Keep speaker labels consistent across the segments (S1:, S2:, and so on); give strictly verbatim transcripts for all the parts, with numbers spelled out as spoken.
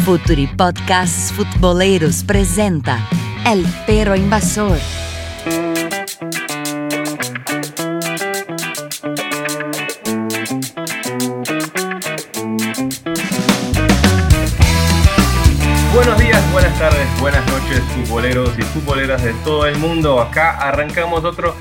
S1: Futuri Podcasts Futboleros presenta El Perro Invasor.
S2: Buenos días, buenas tardes, buenas noches, futboleros y futboleras de todo el mundo. Acá arrancamos otro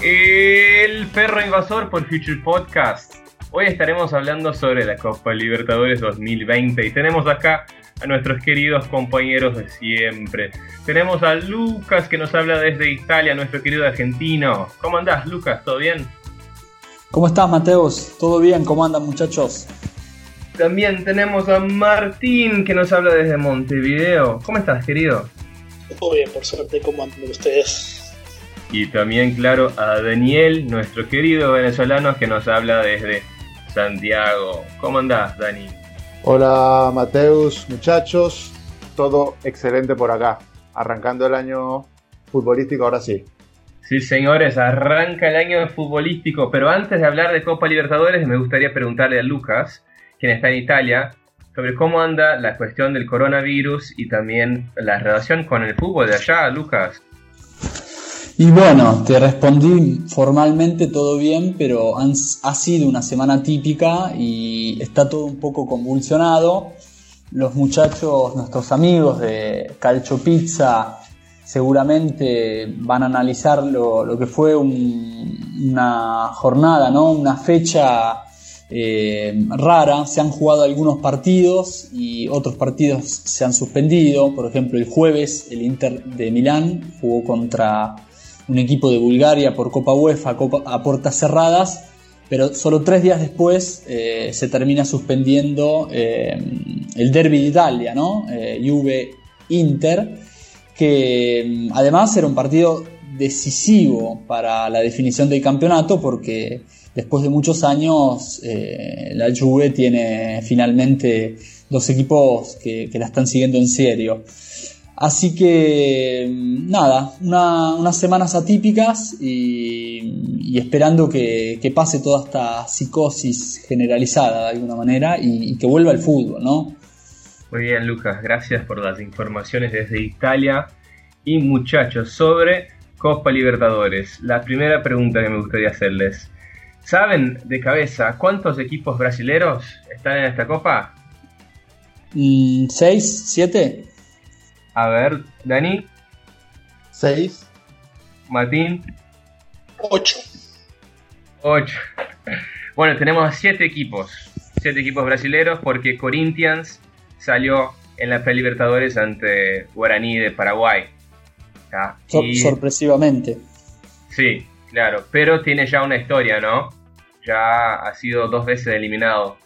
S2: El Perro Invasor por Future Podcast. Hoy estaremos hablando sobre la Copa Libertadores dos mil veinte y tenemos acá a nuestros queridos compañeros de siempre. Tenemos a Lucas que nos habla desde Italia, nuestro querido argentino. ¿Cómo andás, Lucas? ¿Todo bien?
S3: ¿Cómo estás, Mateus? ¿Todo bien? ¿Cómo andan, muchachos?
S2: También tenemos a Martín que nos habla desde Montevideo. ¿Cómo estás, querido?
S4: Todo bien, por suerte. ¿Cómo andan ustedes?
S2: Y también, claro, a Daniel, nuestro querido venezolano que nos habla desde Santiago. ¿Cómo andás, Dani?
S5: Hola, Mateus, muchachos. Todo excelente por acá. Arrancando el año futbolístico, ahora sí.
S2: Sí, señores, arranca el año futbolístico. Pero antes de hablar de Copa Libertadores, me gustaría preguntarle a Lucas, quien está en Italia, sobre cómo anda la cuestión del coronavirus y también la relación con el fútbol de allá, Lucas.
S3: Y bueno, te respondí formalmente todo bien, pero han, ha sido una semana típica y está todo un poco convulsionado. Los muchachos, nuestros amigos de Calcio Pizza, seguramente van a analizar lo, lo que fue un, una jornada, ¿no? Una fecha eh, rara. Se han jugado algunos partidos y otros partidos se han suspendido. Por ejemplo, el jueves el Inter de Milán jugó contra un equipo de Bulgaria por Copa UEFA Copa, a puertas cerradas, pero solo tres días después eh, se termina suspendiendo eh, el Derby de Italia, ¿no? Eh, Juve-Inter, que además era un partido decisivo para la definición del campeonato, porque después de muchos años eh, la Juve tiene finalmente dos equipos que, que la están siguiendo en serio. Así que nada, una, unas semanas atípicas y, y esperando que, que pase toda esta psicosis generalizada de alguna manera y, y que vuelva el fútbol, ¿no?
S2: Muy bien, Lucas, gracias por las informaciones desde Italia. Y muchachos, sobre Copa Libertadores, la primera pregunta que me gustaría hacerles: ¿saben de cabeza cuántos equipos brasileros están en esta copa?
S3: ¿Seis? ¿Siete?
S2: A ver, Dani.
S5: Seis.
S2: Martín.
S4: Ocho.
S2: Ocho. Bueno, tenemos siete equipos. Siete equipos brasileros porque Corinthians salió en la Pre-Libertadores ante Guaraní de Paraguay. ¿Ah?
S3: Y... sorpresivamente.
S2: Sí, claro. Pero tiene ya una historia, ¿no? Ya ha sido dos veces eliminado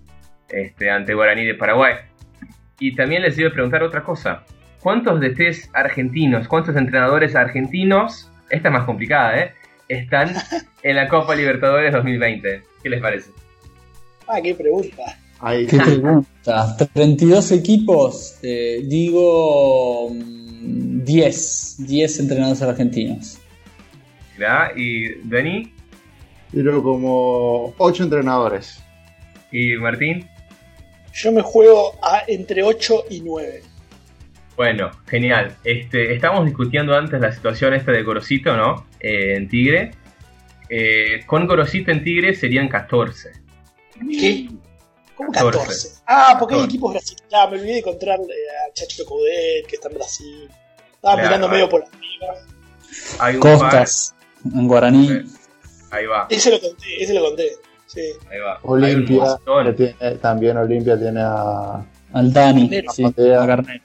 S2: este, ante Guaraní de Paraguay. Y también les iba a preguntar otra cosa. ¿Cuántos de ustedes argentinos, cuántos entrenadores argentinos, esta es más complicada, ¿eh?, están en la Copa Libertadores dos mil veinte? ¿Qué les parece?
S4: Ah, qué pregunta.
S5: Ahí.
S3: ¿Qué pregunta? treinta y dos equipos, eh, digo diez, diez entrenadores argentinos.
S2: ¿Ya? ¿Y Dani?
S5: Pero como ocho entrenadores.
S2: ¿Y Martín?
S4: Yo me juego a entre ocho y nueve.
S2: Bueno, genial. Este, estábamos discutiendo antes la situación esta de Gorosito, ¿no? Eh, en Tigre. Eh, con Gorosito en Tigre serían catorce.
S4: ¿Qué? ¿Cómo catorce? Ah, porque catorce. Hay equipos brasileños. Ya, me olvidé de encontrar eh, a Chacho Coudet, que está en Brasil. Estaba claro, mirando medio por arriba.
S2: Hay un
S3: Costas, par. En Guaraní.
S2: Ahí va.
S4: Ese lo conté, ese lo conté. Sí.
S2: Ahí va.
S5: Olimpia, tiene, también Olimpia tiene a...
S3: al Dani, sí,
S5: a
S3: Garnet.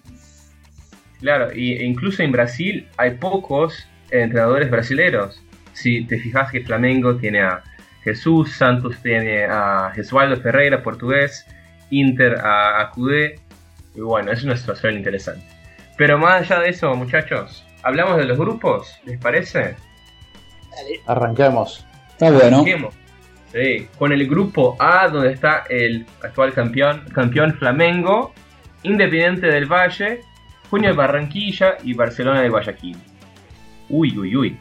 S2: Claro, y, e incluso en Brasil hay pocos entrenadores brasileros. Si te fijas que Flamengo tiene a Jesús, Santos tiene a Jesualdo Ferreira, portugués, Inter a, a Coudet, y bueno, es una situación interesante. Pero más allá de eso, muchachos, ¿hablamos de los grupos? ¿Les parece?
S4: Dale.
S5: Arranquemos.
S3: Está bueno.
S2: Arranquemos. Sí, con el grupo A, donde está el actual campeón, campeón Flamengo, Independiente del Valle, Junior Barranquilla y Barcelona de Guayaquil. Uy, uy, uy.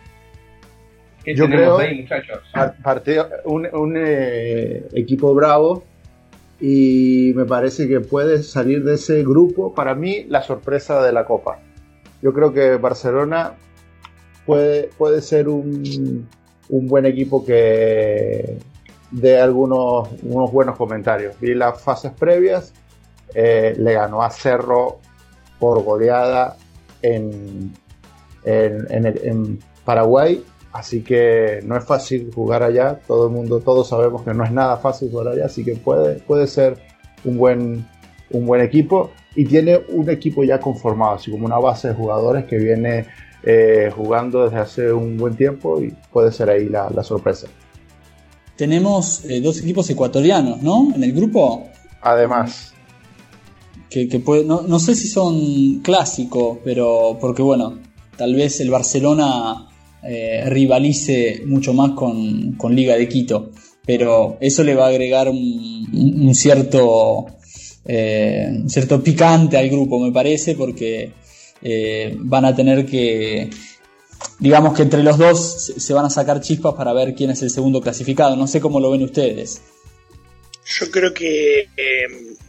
S2: ¿Qué
S5: Yo
S2: tenemos
S5: creo
S2: ahí, muchachos?
S5: Partido, un un eh, equipo bravo y me parece que puede salir de ese grupo, para mí, la sorpresa de la Copa. Yo creo que Barcelona puede, puede ser un, un buen equipo que dé algunos unos buenos comentarios. Vi las fases previas, eh, le ganó a Cerro por goleada en, en, en, en Paraguay, así que no es fácil jugar allá. Todo el mundo, todos sabemos que no es nada fácil jugar allá, así que puede, puede ser un buen, un buen equipo, y tiene un equipo ya conformado, así como una base de jugadores que viene eh, jugando desde hace un buen tiempo, y puede ser ahí la, la sorpresa.
S3: Tenemos eh, dos equipos ecuatorianos, ¿no? En el grupo.
S5: Además.
S3: Que, que puede, no, no sé si son clásicos, pero porque bueno, tal vez el Barcelona eh, rivalice mucho más con, con Liga de Quito, pero eso le va a agregar un, un cierto eh, un cierto picante al grupo, me parece, porque eh, van a tener que, digamos que entre los dos se, se van a sacar chispas para ver quién es el segundo clasificado. No sé cómo lo ven ustedes.
S4: Yo creo que eh,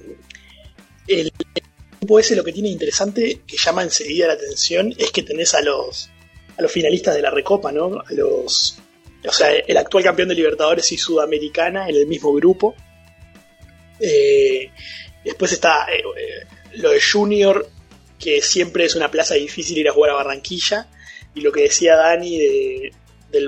S4: el grupo ese, lo que tiene interesante, que llama enseguida la atención, es que tenés a los a los finalistas de la Recopa, ¿no? A los, o sea, el actual campeón de Libertadores y Sudamericana en el mismo grupo. Eh, después está eh, eh, lo de Junior, que siempre es una plaza difícil ir a jugar a Barranquilla, y lo que decía Dani de, del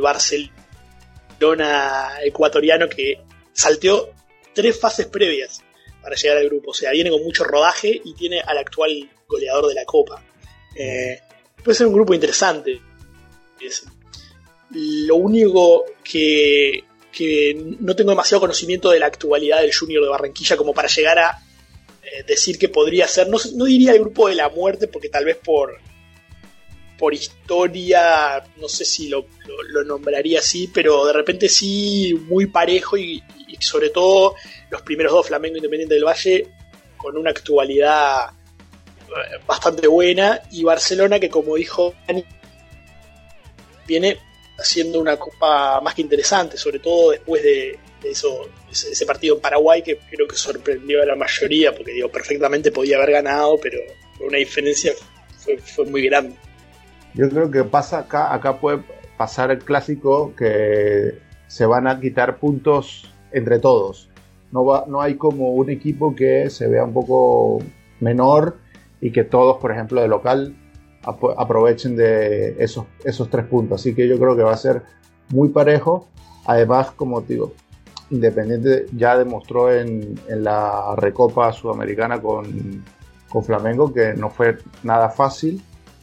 S4: Barcelona ecuatoriano, que salteó tres fases previas para llegar al grupo. O sea, viene con mucho rodaje y tiene al actual goleador de la Copa. Eh, puede ser un grupo interesante. Es, lo único que, que no tengo demasiado conocimiento de la actualidad del Junior de Barranquilla como para llegar a eh, decir que podría ser, no, no diría el grupo de la muerte, porque tal vez por por historia no sé si lo, lo, lo nombraría así, pero de repente sí muy parejo, y, y sobre todo los primeros dos, Flamengo e Independiente del Valle, con una actualidad bastante buena, y Barcelona, que como dijo Dani, viene haciendo una copa más que interesante, sobre todo después de, de eso, ese, ese partido en Paraguay, que creo que sorprendió a la mayoría, porque digo, perfectamente podía haber ganado, pero con una diferencia fue, fue muy grande.
S5: Yo creo que pasa acá, acá puede pasar el clásico, que se van a quitar puntos entre todos. No va, no hay como un equipo que se vea un poco menor y que todos, por ejemplo, de local ap- aprovechen de esos, esos tres puntos. Así que yo creo que va a ser muy parejo. Además, como te digo, Independiente ya demostró en, en la Recopa Sudamericana con, con Flamengo que no fue nada fácil.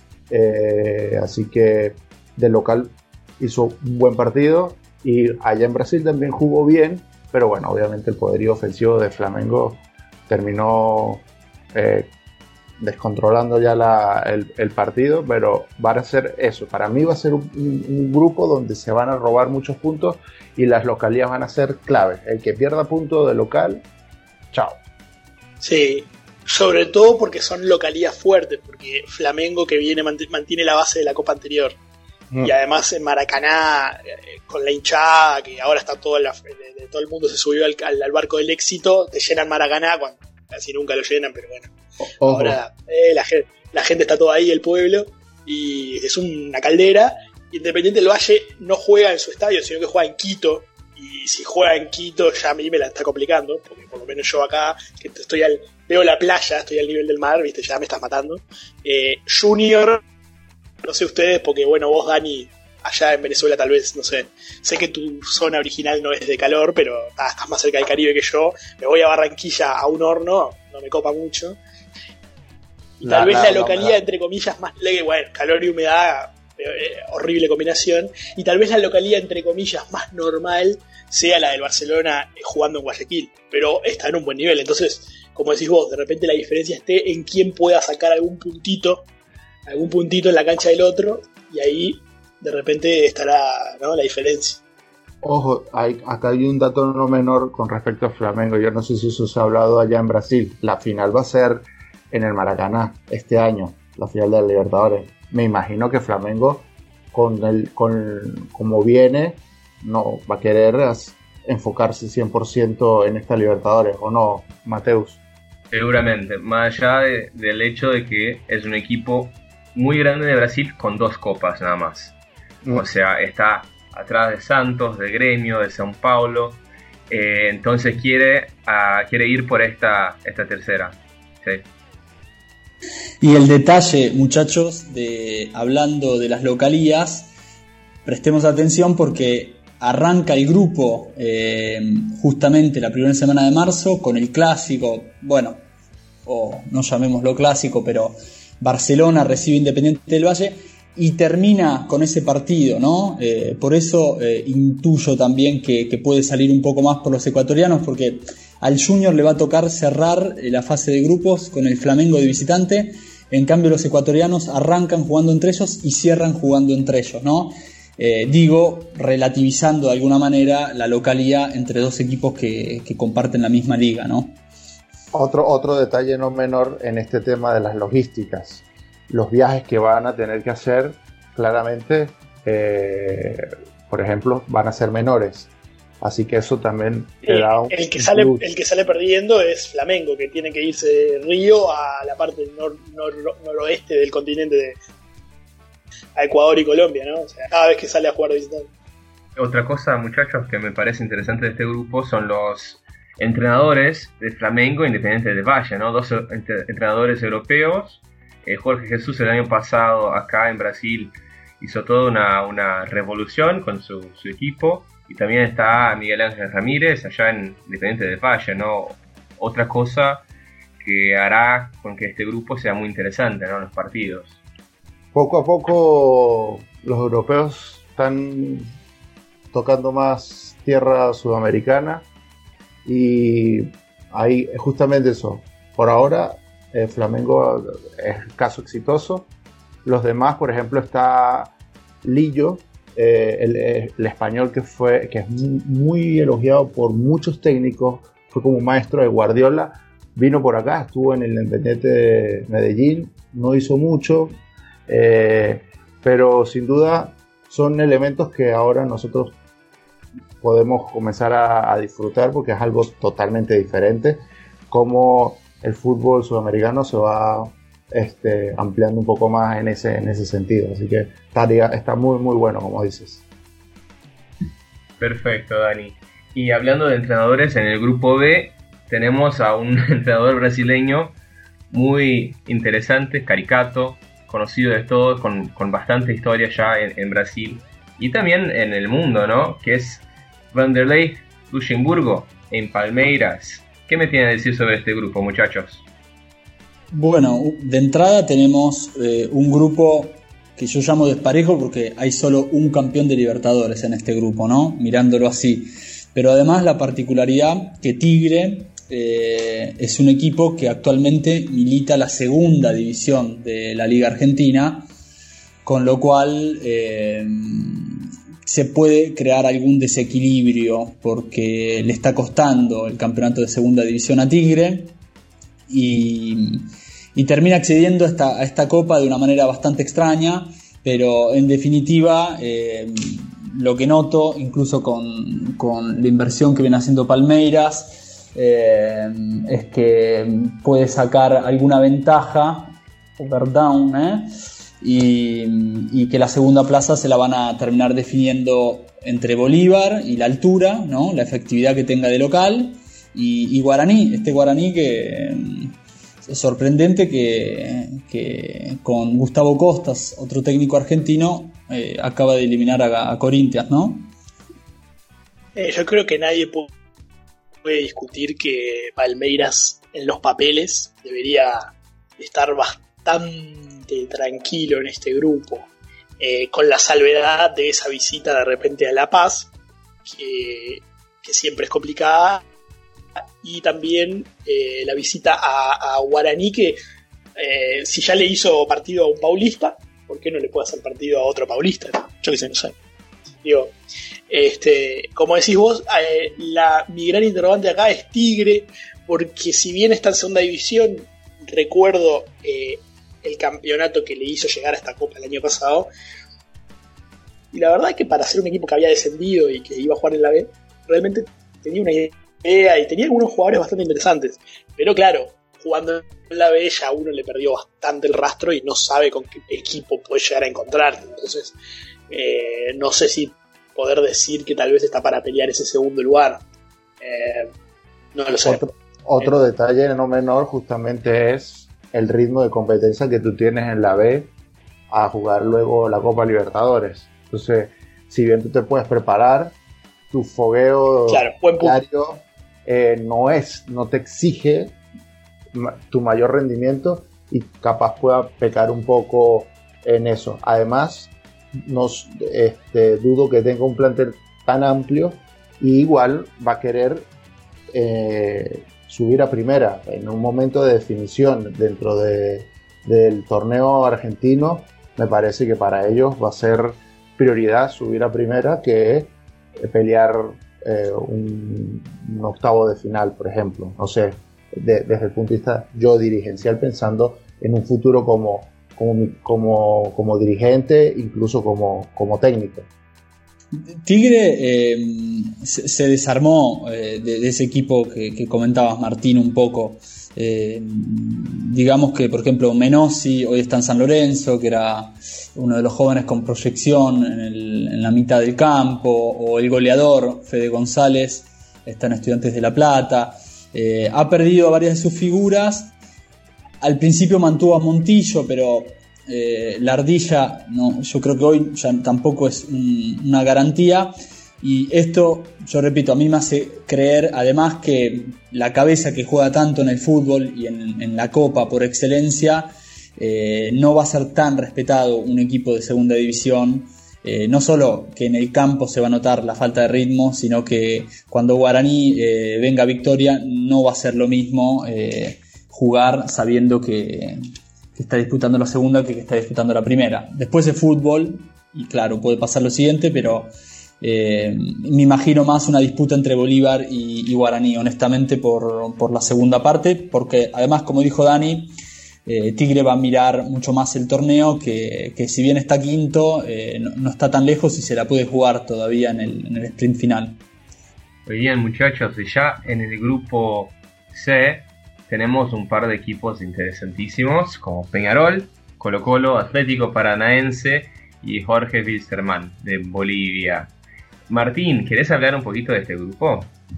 S5: Eh, así que de local hizo un buen partido, y allá en Brasil también jugó bien, pero bueno, obviamente el poderío ofensivo de Flamengo terminó eh, descontrolando ya la, el, el partido. Pero va a ser eso, para mí va a ser un, un, un grupo donde se van a robar muchos puntos y las localías van a ser claves. El que pierda puntos de local, chao.
S4: Sí, sobre todo porque son localías fuertes, porque Flamengo, que viene mantiene la base de la Copa anterior, mm. y además en Maracaná, eh, con la hinchada, que ahora está todo, la, de, de todo el mundo se subió al, al, al barco del éxito, te llenan Maracaná, cuando casi nunca lo llenan, pero bueno, Ojo. ahora eh, la, gente, la gente está toda ahí, el pueblo, y es una caldera. Independiente del Valle no juega en su estadio, sino que juega en Quito, y si juega en Quito ya a mí me la está complicando, porque por lo menos yo acá, que estoy al, veo la playa, estoy al nivel del mar, viste, ya me estás matando. Eh, Junior, no sé ustedes, porque bueno, vos, Dani, allá en Venezuela tal vez, no sé, sé que tu zona original no es de calor, pero ah, estás más cerca del Caribe que yo. Me voy a Barranquilla a un horno, no me copa mucho. Y tal no, vez no, la localidad, no, entre comillas, más leve, bueno, calor y humedad, eh, horrible combinación, y tal vez la localidad, entre comillas, más normal sea la del Barcelona jugando en Guayaquil, pero está en un buen nivel. Entonces, como decís vos, de repente la diferencia esté en quién pueda sacar algún puntito, algún puntito en la cancha del otro, y ahí de repente estará, ¿no?, la diferencia.
S5: Ojo, hay, acá hay un dato no menor con respecto a Flamengo. Yo no sé si eso se ha hablado allá en Brasil. La final va a ser en el Maracaná este año, la final de la Libertadores. Me imagino que Flamengo, con el, con como viene, no va a querer enfocarse cien por ciento en esta Libertadores, ¿o no, Mateus?
S2: Seguramente, más allá de, del hecho de que es un equipo muy grande de Brasil con dos copas nada más. Mm. O sea, está atrás de Santos, de Gremio, de São Paulo. Eh, entonces quiere, uh, quiere ir por esta, esta tercera. Sí.
S3: Y el detalle, muchachos, de hablando de las localías, prestemos atención porque arranca el grupo eh, justamente la primera semana de marzo con el clásico, bueno, o no llamémoslo clásico, pero Barcelona recibe Independiente del Valle y termina con ese partido, ¿no? Eh, por eso eh, intuyo también que, que puede salir un poco más por los ecuatorianos, porque al Junior le va a tocar cerrar la fase de grupos con el Flamengo de visitante. En cambio los ecuatorianos arrancan jugando entre ellos y cierran jugando entre ellos, ¿no? Eh, digo, relativizando de alguna manera la localidad entre dos equipos que, que comparten la misma liga, ¿no?
S5: Otro, otro detalle no menor en este tema de las logísticas. Los viajes que van a tener que hacer, claramente, eh, por ejemplo, van a ser menores. Así que eso también te da un...
S4: El que, sale, el que sale perdiendo es Flamengo, que tiene que irse de Río a la parte nor, nor, noroeste del continente, de, a Ecuador y Colombia, ¿no? O sea, cada vez que sale a jugar de visitante.
S2: Otra cosa, muchachos, que me parece interesante de este grupo son los entrenadores de Flamengo e Independiente del Valle, ¿no? Dos entre, entrenadores europeos. Eh, Jorge Jesús el año pasado acá en Brasil hizo toda una, una revolución con su, su equipo. Y también está Miguel Ángel Ramírez allá en Independiente del Valle, ¿no? Otra cosa que hará con que este grupo sea muy interesante, ¿no? Los partidos.
S5: Poco a poco los europeos están tocando más tierra sudamericana y ahí justamente eso. Por ahora eh, Flamengo es caso exitoso. Los demás, por ejemplo, está Lillo, eh, el, el español que fue que es muy, muy elogiado por muchos técnicos, fue como maestro de Guardiola, vino por acá, estuvo en el Independiente de Medellín, no hizo mucho, eh, pero sin duda son elementos que ahora nosotros podemos comenzar a, a disfrutar porque es algo totalmente diferente, como el fútbol sudamericano se va este, ampliando un poco más en ese, en ese sentido, así que estaría, está muy muy bueno, como dices.
S2: Perfecto, Dani. Y hablando de entrenadores, en el grupo B tenemos a un entrenador brasileño muy interesante, Caricato, conocido de todos, con, con bastante historia ya en, en Brasil y también en el mundo, ¿no? Que es Vanderlei Luxemburgo en Palmeiras. ¿Qué me tiene que decir sobre este grupo, muchachos?
S3: Bueno, de entrada tenemos eh, un grupo que yo llamo desparejo porque hay solo un campeón de Libertadores en este grupo, ¿no? Mirándolo así. Pero además la particularidad que Tigre eh, es un equipo que actualmente milita la segunda división de la Liga Argentina, con lo cual eh, se puede crear algún desequilibrio porque le está costando el campeonato de segunda división a Tigre y, y termina accediendo a esta, a esta copa de una manera bastante extraña, pero en definitiva eh, lo que noto, incluso con, con la inversión que viene haciendo Palmeiras, eh, es que puede sacar alguna ventaja over down, ¿eh? y, y que la segunda plaza se la van a terminar definiendo entre Bolívar y la altura, ¿no? La efectividad que tenga de local, y, y Guaraní, este Guaraní que es sorprendente que, que con Gustavo Costas, otro técnico argentino, eh, acaba de eliminar a, a Corinthians, ¿no?
S4: Eh, yo creo que nadie puede, puede discutir que Palmeiras en los papeles debería estar bastante tranquilo en este grupo, eh, con la salvedad de esa visita de repente a La Paz, que, que siempre es complicada, y también eh, la visita a, a Guaraní, que eh, si ya le hizo partido a un paulista, ¿por qué no le puede hacer partido a otro paulista? Yo qué sé, no sé. Digo, este, como decís vos, eh, la, mi gran interrogante acá es Tigre, porque si bien está en segunda división, recuerdo eh, el campeonato que le hizo llegar a esta copa el año pasado, y la verdad es que para ser un equipo que había descendido y que iba a jugar en la B, realmente tenía una idea y tenía algunos jugadores bastante interesantes. Pero claro, jugando en la B ya uno le perdió bastante el rastro y no sabe con qué equipo puede llegar a encontrar. Entonces, eh, no sé si poder decir que tal vez está para pelear ese segundo lugar. Eh, no lo sé.
S5: Otro, otro eh. detalle no menor justamente es el ritmo de competencia que tú tienes en la B a jugar luego la Copa Libertadores. Entonces, si bien tú te puedes preparar, tu fogueo
S4: claro,
S5: diario eh, no es, no te exige tu mayor rendimiento y capaz pueda pecar un poco en eso. Además, nos, este, dudo que tenga un plantel tan amplio y igual va a querer eh, subir a primera en un momento de definición dentro de, del torneo argentino. Me parece que para ellos va a ser prioridad subir a primera que pelear eh, un, un octavo de final, por ejemplo. No sé, de, desde el punto de vista yo dirigencial, pensando en un futuro como, como, como, como dirigente, incluso como, como técnico.
S3: Tigre eh, se, se desarmó eh, de, de ese equipo que, que comentabas, Martín, un poco. Eh, digamos que, por ejemplo, Menossi hoy está en San Lorenzo, que era uno de los jóvenes con proyección en, el, en la mitad del campo, o el goleador Fede González está en Estudiantes de La Plata. Eh, ha perdido a varias de sus figuras. Al principio mantuvo a Montillo, pero eh, la ardilla, no, yo creo que hoy ya tampoco es un, una garantía. Y esto, yo repito, a mí me hace creer además que la cabeza que juega tanto en el fútbol y en, en la Copa por excelencia, eh, no va a ser tan respetado un equipo de segunda división. Eh, no solo que en el campo se va a notar la falta de ritmo, sino que cuando Guaraní eh, venga a Victoria no va a ser lo mismo eh, jugar sabiendo que, que está disputando la segunda que que está disputando la primera. Después de fútbol, y claro, puede pasar lo siguiente, pero Eh, me imagino más una disputa entre Bolívar y, y Guaraní, honestamente, por, por la segunda parte, porque además, como dijo Dani, eh, Tigre va a mirar mucho más el torneo, que, que si bien está quinto, eh, no, no está tan lejos y se la puede jugar todavía en el, en el sprint final.
S2: Muy bien, muchachos, y ya en el grupo C tenemos un par de equipos interesantísimos como Peñarol, Colo Colo, Atlético Paranaense y Jorge Wilstermann de Bolivia. Martín, ¿querés hablar un poquito de este grupo?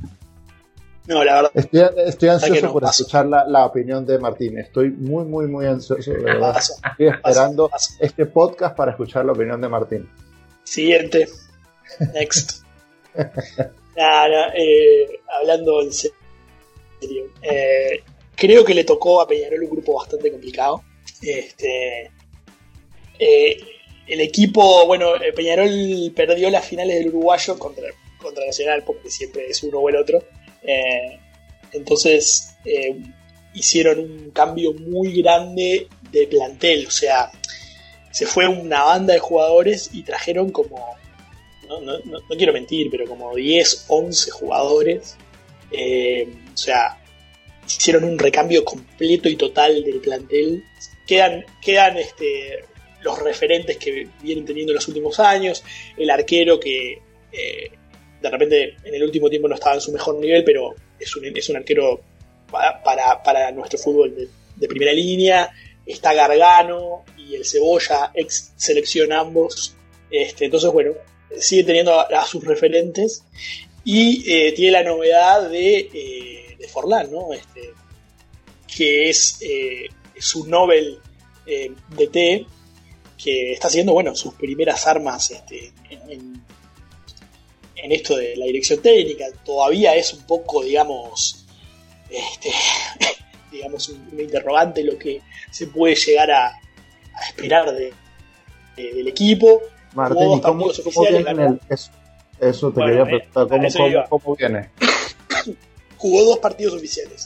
S4: No, la verdad.
S5: Estoy, estoy ansioso
S4: no,
S5: por
S4: paso.
S5: escuchar la, la opinión de Martín. Estoy muy, muy, muy ansioso, de verdad.
S4: Paso,
S5: estoy esperando
S4: paso, paso.
S5: este podcast para escuchar la opinión de Martín.
S4: Siguiente. Next. nah, nah, eh, hablando en serio. Eh, creo que le tocó a Peñarol un grupo bastante complicado. Este. Eh, El equipo, bueno, Peñarol perdió las finales del uruguayo contra, contra Nacional, porque siempre es uno o el otro. Eh, entonces eh, hicieron un cambio muy grande de plantel. O sea, se fue una banda de jugadores y trajeron como, no, no, no, no quiero mentir, pero como diez, once jugadores. Eh, o sea, hicieron un recambio completo y total del plantel. Quedan, quedan este... los referentes que vienen teniendo en los últimos años, el arquero que eh, de repente en el último tiempo no estaba en su mejor nivel, pero es un, es un arquero para, para, para nuestro fútbol de, de primera línea. Está Gargano y el Cebolla, ex selección ambos. Este, entonces, bueno, sigue teniendo a, a sus referentes y eh, tiene la novedad de, eh, de Forlán, ¿no? Este, que es eh, su Nobel eh, D T, que está haciendo, bueno, sus primeras armas este, en, en esto de la dirección técnica. Todavía es un poco, digamos, este, digamos un, un interrogante lo que se puede llegar a, a esperar de, de, del equipo.
S5: Martín, ¿y cómo, cómo viene el, eso, eso te bueno, quería preguntar, ¿cómo, cómo, cómo, cómo viene?
S4: Jugó dos partidos oficiales.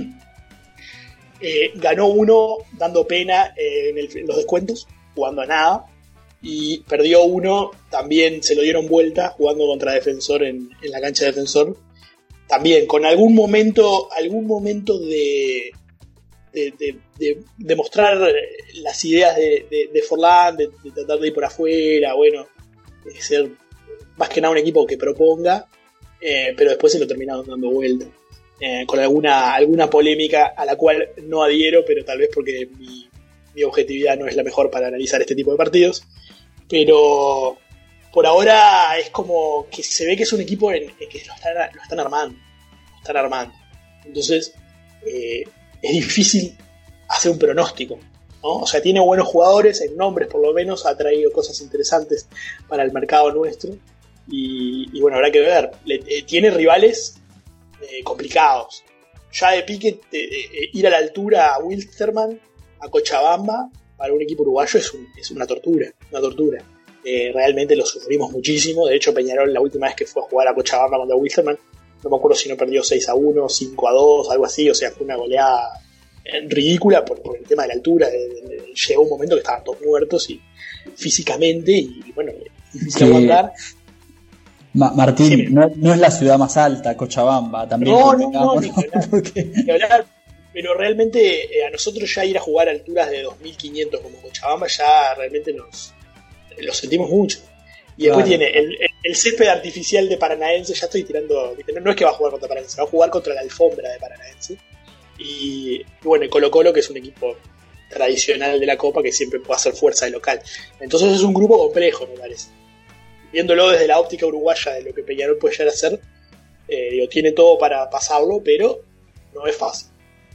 S4: eh, ganó uno dando pena eh, en, el, en los descuentos, jugando a nada, y perdió uno, también se lo dieron vuelta jugando contra Defensor en, en la cancha de Defensor, también con algún momento algún momento de de, de, de, de mostrar las ideas de, de, de Forlán, de, de tratar de ir por afuera, bueno, de ser más que nada un equipo que proponga, eh, pero después se lo terminaron dando vuelta. Eh, con alguna, alguna polémica a la cual no adhiero, pero tal vez porque mi, mi objetividad no es la mejor para analizar este tipo de partidos. Pero por ahora es como que se ve que es un equipo en, en que lo están, lo están armando. Lo están armando. Entonces eh, es difícil hacer un pronóstico, ¿no? O sea, tiene buenos jugadores, en nombres por lo menos, ha traído cosas interesantes para el mercado nuestro. Y, y bueno, habrá que ver. Le, eh, tiene rivales Eh, complicados. Ya de pique eh, eh, ir a la altura a Wilstermann, a Cochabamba, para un equipo uruguayo es, un, es una tortura, una tortura. Eh, realmente lo sufrimos muchísimo. De hecho, Peñarol, la última vez que fue a jugar a Cochabamba contra Wilstermann, no me acuerdo si no perdió seis a uno, cinco a dos, algo así. O sea, fue una goleada ridícula por, por el tema de la altura. De, de, de, llegó un momento que estaban todos muertos y físicamente, y, y bueno, difícil
S3: sí.
S4: aguantar.
S3: Ma- Martín, sí, no, no es la ciudad más alta, Cochabamba, también.
S4: No, no, no, ni
S3: ¿no?
S4: que hablar,
S3: Porque...
S4: ni que hablar. Pero realmente eh, a nosotros ya ir a jugar a alturas de dos mil quinientos como Cochabamba ya realmente nos lo sentimos mucho. Y después
S3: Claro.
S4: tiene el, el, el césped artificial de Paranaense, ya estoy tirando, no, no es que va a jugar contra Paranaense, va a jugar contra la alfombra de Paranaense. Y, y bueno, el Colo Colo, que es un equipo tradicional de la Copa que siempre puede hacer fuerza de local. Entonces es un grupo complejo, me parece. Viéndolo desde la óptica uruguaya de lo que Peñarol puede llegar a hacer, eh, digo, tiene todo para pasarlo, pero no es fácil.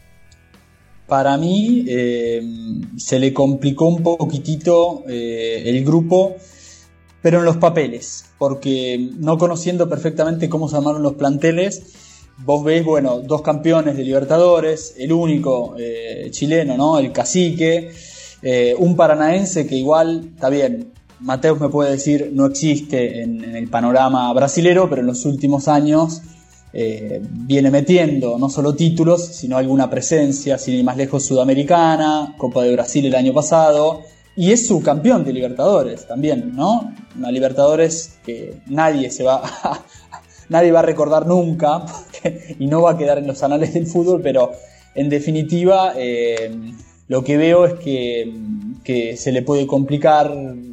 S3: Para mí eh, se le complicó un poquitito eh, el grupo, pero en los papeles, porque no conociendo perfectamente cómo se armaron los planteles, vos veis, bueno, dos campeones de Libertadores, el único eh, chileno, ¿no? El Cacique, eh, un paranaense que igual, está bien, Mateus me puede decir no existe en, en el panorama brasilero, pero en los últimos años eh, viene metiendo no solo títulos, sino alguna presencia, sin ir más lejos, sudamericana, Copa de Brasil el año pasado, y es subcampeón de Libertadores también, ¿no? Una Libertadores que nadie se va a, nadie va a recordar nunca porque, y no va a quedar en los anales del fútbol, pero en definitiva eh, lo que veo es que, que se le puede complicar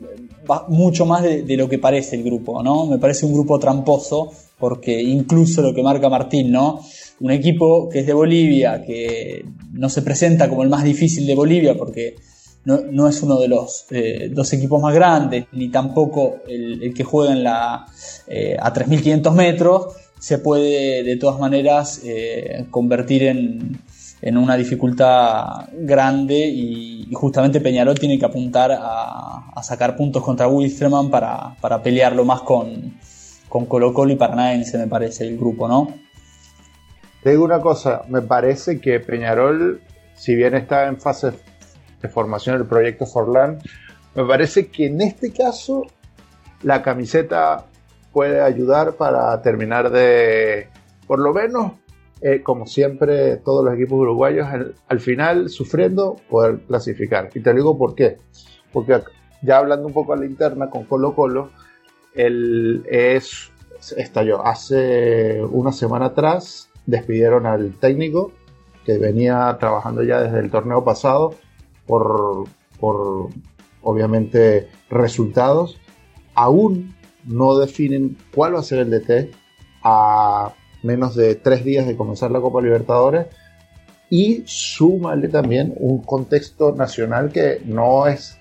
S3: mucho más de, de lo que parece el grupo, ¿no? Me parece un grupo tramposo, porque incluso lo que marca Martín, ¿no? Un equipo que es de Bolivia, que no se presenta como el más difícil de Bolivia, porque no, no es uno de los eh, dos equipos más grandes, ni tampoco el, el que juega en la, eh, a tres mil quinientos metros, se puede de todas maneras eh, convertir en, en una dificultad grande, y, y justamente Peñarol tiene que apuntar a, a sacar puntos contra Wilstermann para, para pelearlo más con, con Colo Colo y Paranaense, me parece, el grupo, ¿no?
S5: Te digo una cosa, me parece que Peñarol, si bien está en fase de formación del proyecto Forlán, me parece que en este caso la camiseta puede ayudar para terminar de, por lo menos, eh, como siempre todos los equipos uruguayos, al, al final sufriendo poder clasificar. Y te digo por qué, porque ya hablando un poco a la interna con Colo Colo, el, es, estalló hace una semana atrás, despidieron al técnico que venía trabajando ya desde el torneo pasado por, por obviamente resultados. Aún no definen cuál va a ser el D T a menos de tres días de comenzar la Copa Libertadores, y súmale también un contexto nacional que no es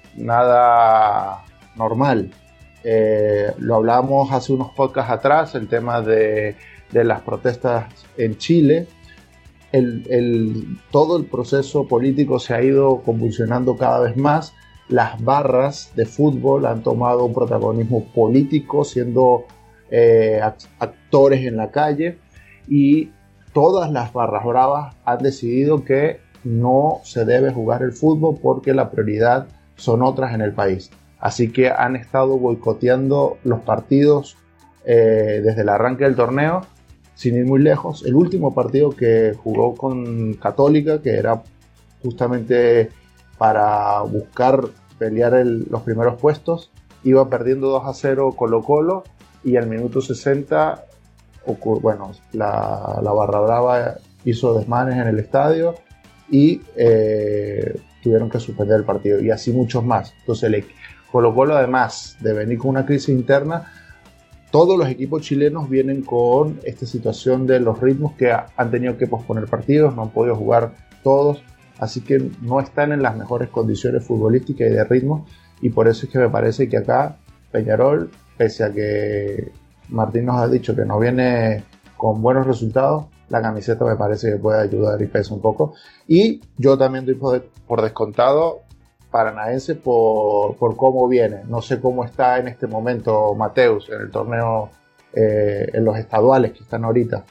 S5: nada normal. Eh, lo hablamos hace unos podcasts atrás, el tema de, de las protestas en Chile. El, el, todo el proceso político se ha ido convulsionando cada vez más. Las barras de fútbol han tomado un protagonismo político, siendo eh, actores en la calle, y todas las barras bravas han decidido que no se debe jugar el fútbol porque la prioridad son otras en el país. Así que han estado boicoteando los partidos eh, desde el arranque del torneo, sin ir muy lejos. El último partido que jugó con Católica, que era justamente para buscar pelear el, los primeros puestos, iba perdiendo dos a cero Colo Colo, y al minuto sesenta, bueno, la, la barra brava hizo desmanes en el estadio y eh, tuvieron que suspender el partido, y así muchos más. Entonces el Colo Colo, además de venir con una crisis interna, todos los equipos chilenos vienen con esta situación de los ritmos que ha, han tenido que posponer partidos, no han podido jugar todos, así que no están en las mejores condiciones futbolísticas y de ritmo, y por eso es que me parece que acá Peñarol, pese a que Martín nos ha dicho que no viene con buenos resultados, la camiseta me parece que puede ayudar y pesa un poco. Y yo también doy por, por descontado Paranaense por, por cómo viene. No sé cómo está en este momento Mateus en el torneo, eh, en los estaduales que están ahorita.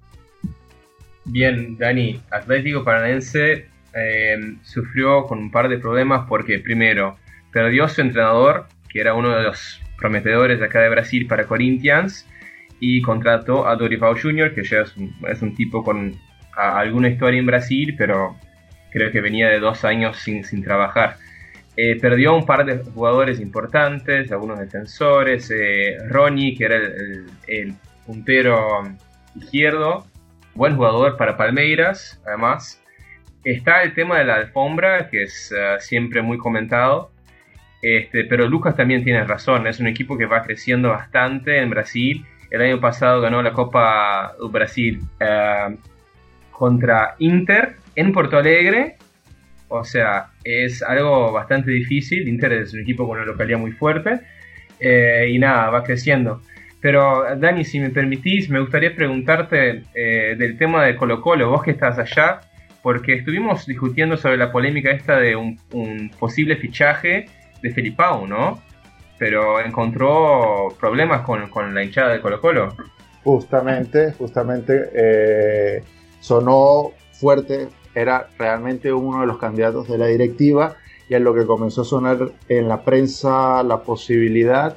S2: Bien, Dani, Atlético Paranaense eh, sufrió con un par de problemas porque primero perdió su entrenador, que era uno de los prometedores de acá de Brasil para Corinthians, y contrató a Dorival junior, que ya es un, es un tipo con a, alguna historia en Brasil, pero creo que venía de dos años sin, sin trabajar. Eh, perdió un par de jugadores importantes, algunos defensores, eh, Ronnie, que era el, el, el puntero izquierdo, buen jugador para Palmeiras, además. Está el tema de la alfombra, que es uh, siempre muy comentado, este, pero Lucas también tiene razón, es un equipo que va creciendo bastante en Brasil. El año pasado ganó la Copa do Brasil uh, contra Inter en Porto Alegre. O sea, es algo bastante difícil. Inter es un equipo con una localidad muy fuerte. Eh, y nada, va creciendo. Pero Dani, si me permitís, me gustaría preguntarte eh, del tema de Colo-Colo. Vos que estás allá, porque estuvimos discutiendo sobre la polémica esta de un, un posible fichaje de Felipao, ¿no? Pero encontró problemas con, con la hinchada de Colo-Colo.
S5: Justamente, justamente eh, sonó fuerte, era realmente uno de los candidatos de la directiva, y en lo que comenzó a sonar en la prensa la posibilidad,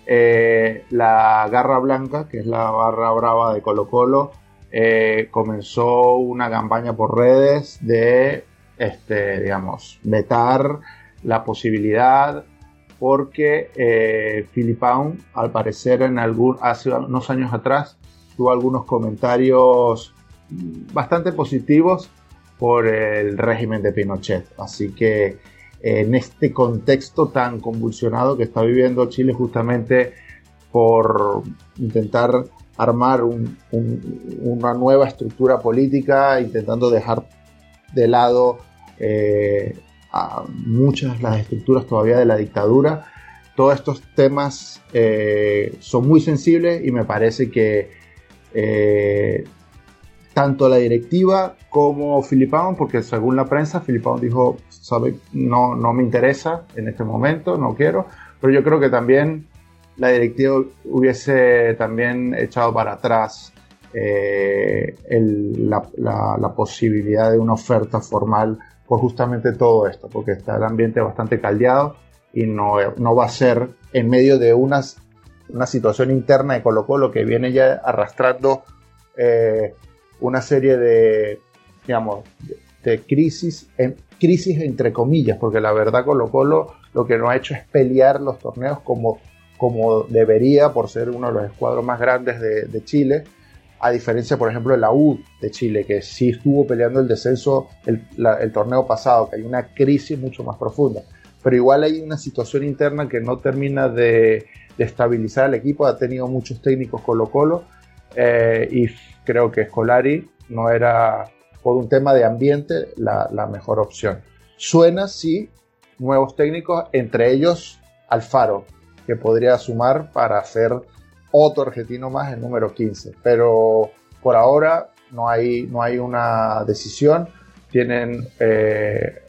S5: eh, la Garra Blanca, que es la barra brava de Colo-Colo, eh, comenzó una campaña por redes de, este, digamos, vetar la posibilidad, porque eh, Felipao, al parecer, en algún, hace unos años atrás, tuvo algunos comentarios bastante positivos por el régimen de Pinochet. Así que eh, en este contexto tan convulsionado que está viviendo Chile, justamente por intentar armar un, un, una nueva estructura política, intentando dejar de lado eh, a muchas las estructuras todavía de la dictadura. Todos estos temas eh, son muy sensibles, y me parece que eh, tanto la directiva como Felipao, porque según la prensa Felipao dijo, sabe, no, no me interesa en este momento, no quiero, pero yo creo que también la directiva hubiese también echado para atrás eh, el, la, la, la posibilidad de una oferta formal por justamente todo esto, porque está el ambiente bastante caldeado y no, no va a ser en medio de unas, una situación interna de Colo-Colo que viene ya arrastrando eh, una serie de, digamos, de, de crisis, en, crisis entre comillas, porque la verdad Colo-Colo lo que no ha hecho es pelear los torneos como, como debería, por ser uno de los escuadros más grandes de, de Chile, a diferencia, por ejemplo, de la U de Chile, que sí estuvo peleando el descenso el, la, el torneo pasado, que hay una crisis mucho más profunda. Pero igual hay una situación interna que no termina de, de estabilizar al equipo. Ha tenido muchos técnicos Colo-Colo, eh, y creo que Scolari no era, por un tema de ambiente, la, la mejor opción. Suena, sí, nuevos técnicos, entre ellos Alfaro, que podría sumar para hacer otro argentino más, el número quince, pero por ahora no hay, no hay una decisión. Tienen eh,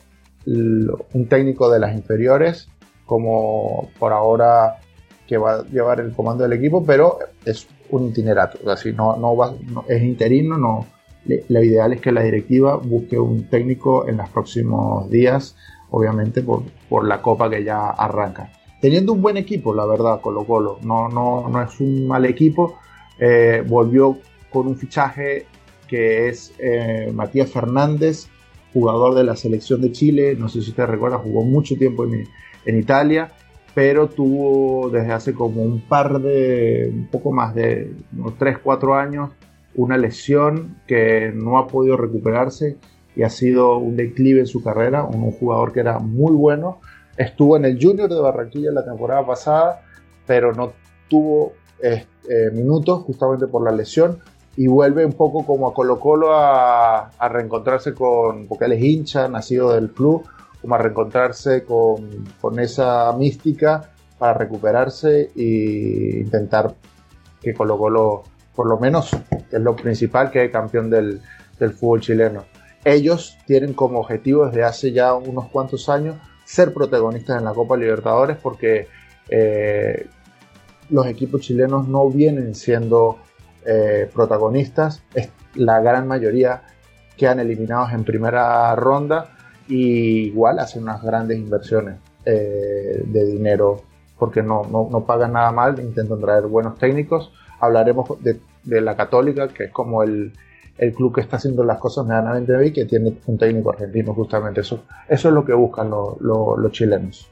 S5: un técnico de las inferiores como por ahora que va a llevar el comando del equipo, pero es un itinerato, así no, no va, no, es interino, no, lo ideal es que la directiva busque un técnico en los próximos días, obviamente por, por la copa que ya arranca. Teniendo un buen equipo, la verdad, Colo-Colo, no, no, no es un mal equipo. Eh, volvió con un fichaje que es eh, Matías Fernández, jugador de la selección de Chile, no sé si usted recuerda, jugó mucho tiempo en, en Italia, pero tuvo desde hace como un par de, un poco más de unos tres cuatro años, una lesión que no ha podido recuperarse y ha sido un declive en su carrera, un, un jugador que era muy bueno. Estuvo en el Junior de Barranquilla la temporada pasada, pero no tuvo eh, eh, minutos justamente por la lesión y vuelve un poco como a Colo-Colo a, a reencontrarse con, porque él es hincha, nacido del club, como a reencontrarse con, con esa mística para recuperarse e intentar que Colo-Colo, por lo menos, que es lo principal, quede campeón del, del fútbol chileno. Ellos tienen como objetivo desde hace ya unos cuantos años ser protagonistas en la Copa Libertadores porque eh, los equipos chilenos no vienen siendo eh, protagonistas, es la gran mayoría quedan eliminados en primera ronda y igual hacen unas grandes inversiones eh, de dinero porque no, no, no pagan nada mal, intentan traer buenos técnicos. Hablaremos de, de la Católica, que es como el, el club que está haciendo las cosas medianamente bien, que tiene un técnico argentino justamente. Eso, eso es lo que buscan lo, lo, los chilenos.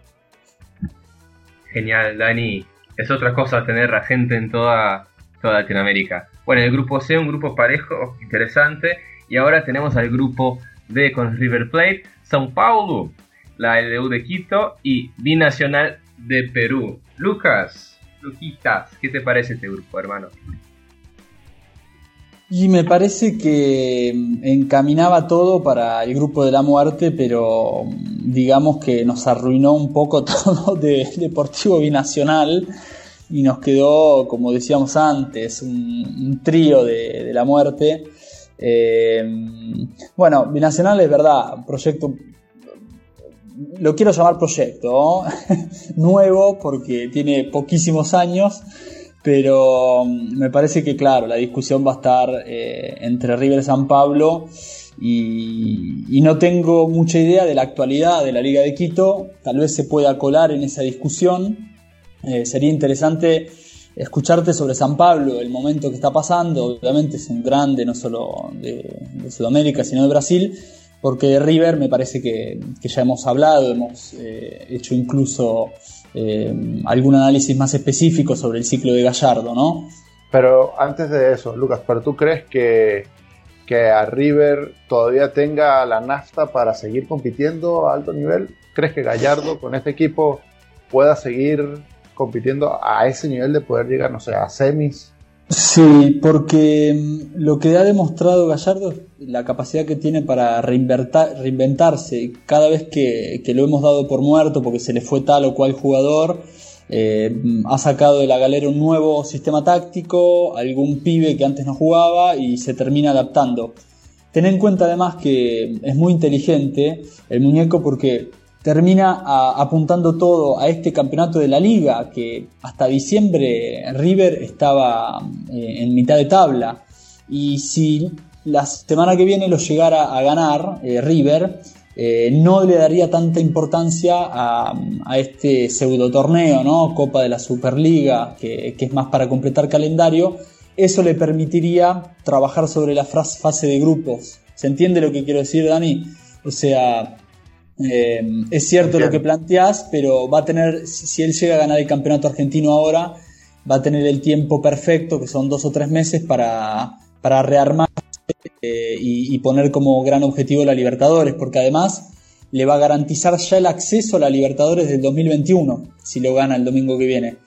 S2: Genial, Dani. Es otra cosa tener a gente en toda, toda Latinoamérica. Bueno, el grupo C, un grupo parejo, interesante. Y ahora tenemos al grupo D con River Plate, São Paulo, la L U de Quito y Binacional de Perú. Lucas, Luquitas, ¿qué te parece este grupo, hermano?
S3: Y me parece que encaminaba todo para el grupo de la muerte, pero digamos que nos arruinó un poco todo de Deportivo Binacional y nos quedó, como decíamos antes, un, un trío de, de la muerte. Eh, bueno, Binacional es verdad, proyecto, lo quiero llamar proyecto, ¿no? Nuevo porque tiene poquísimos años, pero me parece que claro, la discusión va a estar eh, entre River y San Pablo y, y no tengo mucha idea de la actualidad de la Liga de Quito, tal vez se pueda colar en esa discusión. Eh, sería interesante escucharte sobre San Pablo, el momento que está pasando. Obviamente es un grande no solo de, de Sudamérica sino de Brasil, porque de River me parece que, que ya hemos hablado, hemos eh, hecho incluso eh, algún análisis más específico sobre el ciclo de Gallardo, ¿no?
S5: Pero antes de eso, Lucas, ¿pero tú crees que, que a River todavía tenga la nafta para seguir compitiendo a alto nivel? ¿Crees que Gallardo con este equipo pueda seguir compitiendo a ese nivel de poder llegar, no sé, a semis?
S3: Sí, porque lo que ha demostrado Gallardo es la capacidad que tiene para reinventarse. Cada vez que, que lo hemos dado por muerto porque se le fue tal o cual jugador, eh, ha sacado de la galera un nuevo sistema táctico, algún pibe que antes no jugaba y se termina adaptando. Ten en cuenta además que es muy inteligente el muñeco porque termina a, apuntando todo a este campeonato de la Liga, que hasta diciembre River estaba eh, en mitad de tabla. Y si la semana que viene lo llegara a ganar eh, River, eh, no le daría tanta importancia a, a este pseudo torneo, ¿no? Copa de la Superliga, que, que es más para completar calendario. Eso le permitiría trabajar sobre la fase de grupos. ¿Se entiende lo que quiero decir, Dani? O sea... Eh, es cierto lo que planteás, pero va a tener, si, si él llega a ganar el campeonato argentino ahora, va a tener el tiempo perfecto, que son dos o tres meses, para, para rearmarse eh, y, y poner como gran objetivo la Libertadores, porque además le va a garantizar ya el acceso a la Libertadores del dos mil veintiuno, si lo gana el domingo que viene.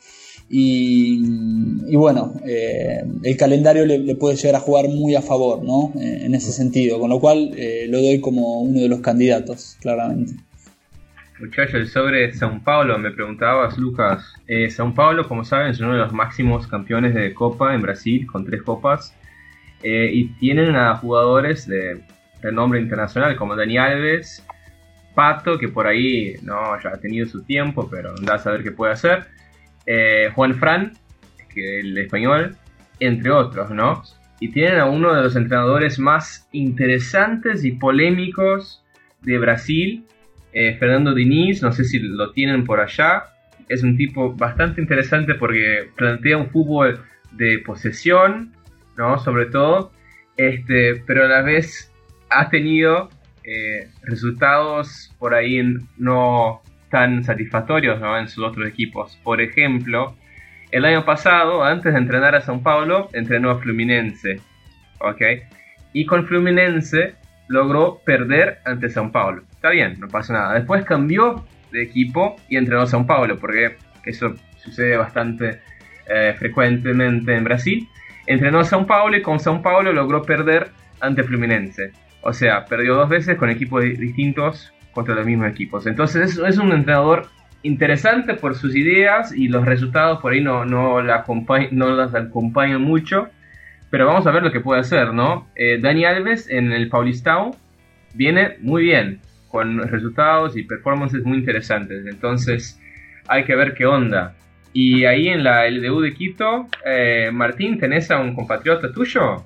S3: Y, y bueno, eh, el calendario le, le puede llegar a jugar muy a favor, ¿no? Eh, en ese sentido, con lo cual eh, lo doy como uno de los candidatos, claramente.
S2: Muchachos, sobre São Paulo me preguntabas, Lucas. eh, São Paulo, como saben, es uno de los máximos campeones de Copa en Brasil, con tres copas, eh, y tienen a jugadores de renombre internacional como Dani Alves, Pato, que por ahí no ya ha tenido su tiempo, pero anda a saber qué puede hacer. Eh, Juan Fran, que el español, entre otros, ¿no? Y tienen a uno de los entrenadores más interesantes y polémicos de Brasil, eh, Fernando Diniz, no sé si lo tienen por allá. Es un tipo bastante interesante porque plantea un fútbol de posesión, ¿no? Sobre todo, este, pero a la vez ha tenido eh, resultados por ahí no tan satisfactorios, ¿no? En sus otros equipos. Por ejemplo, el año pasado, antes de entrenar a São Paulo, entrenó a Fluminense, ¿ok? Y con Fluminense logró perder ante São Paulo. Está bien, no pasa nada. Después cambió de equipo y entrenó a São Paulo, porque eso sucede bastante eh, frecuentemente en Brasil. Entrenó a São Paulo y con São Paulo logró perder ante Fluminense. O sea, perdió dos veces con equipos distintos contra los mismos equipos. Entonces es, es un entrenador interesante por sus ideas y los resultados por ahí no, no, la acompañ- no las acompañan mucho. Pero vamos a ver lo que puede hacer, ¿no? Eh, Dani Alves en el Paulistão viene muy bien, con resultados y performances muy interesantes. Entonces hay que ver qué onda. Y ahí en la L D U de Quito, eh, Martín, ¿tenés a un compatriota tuyo?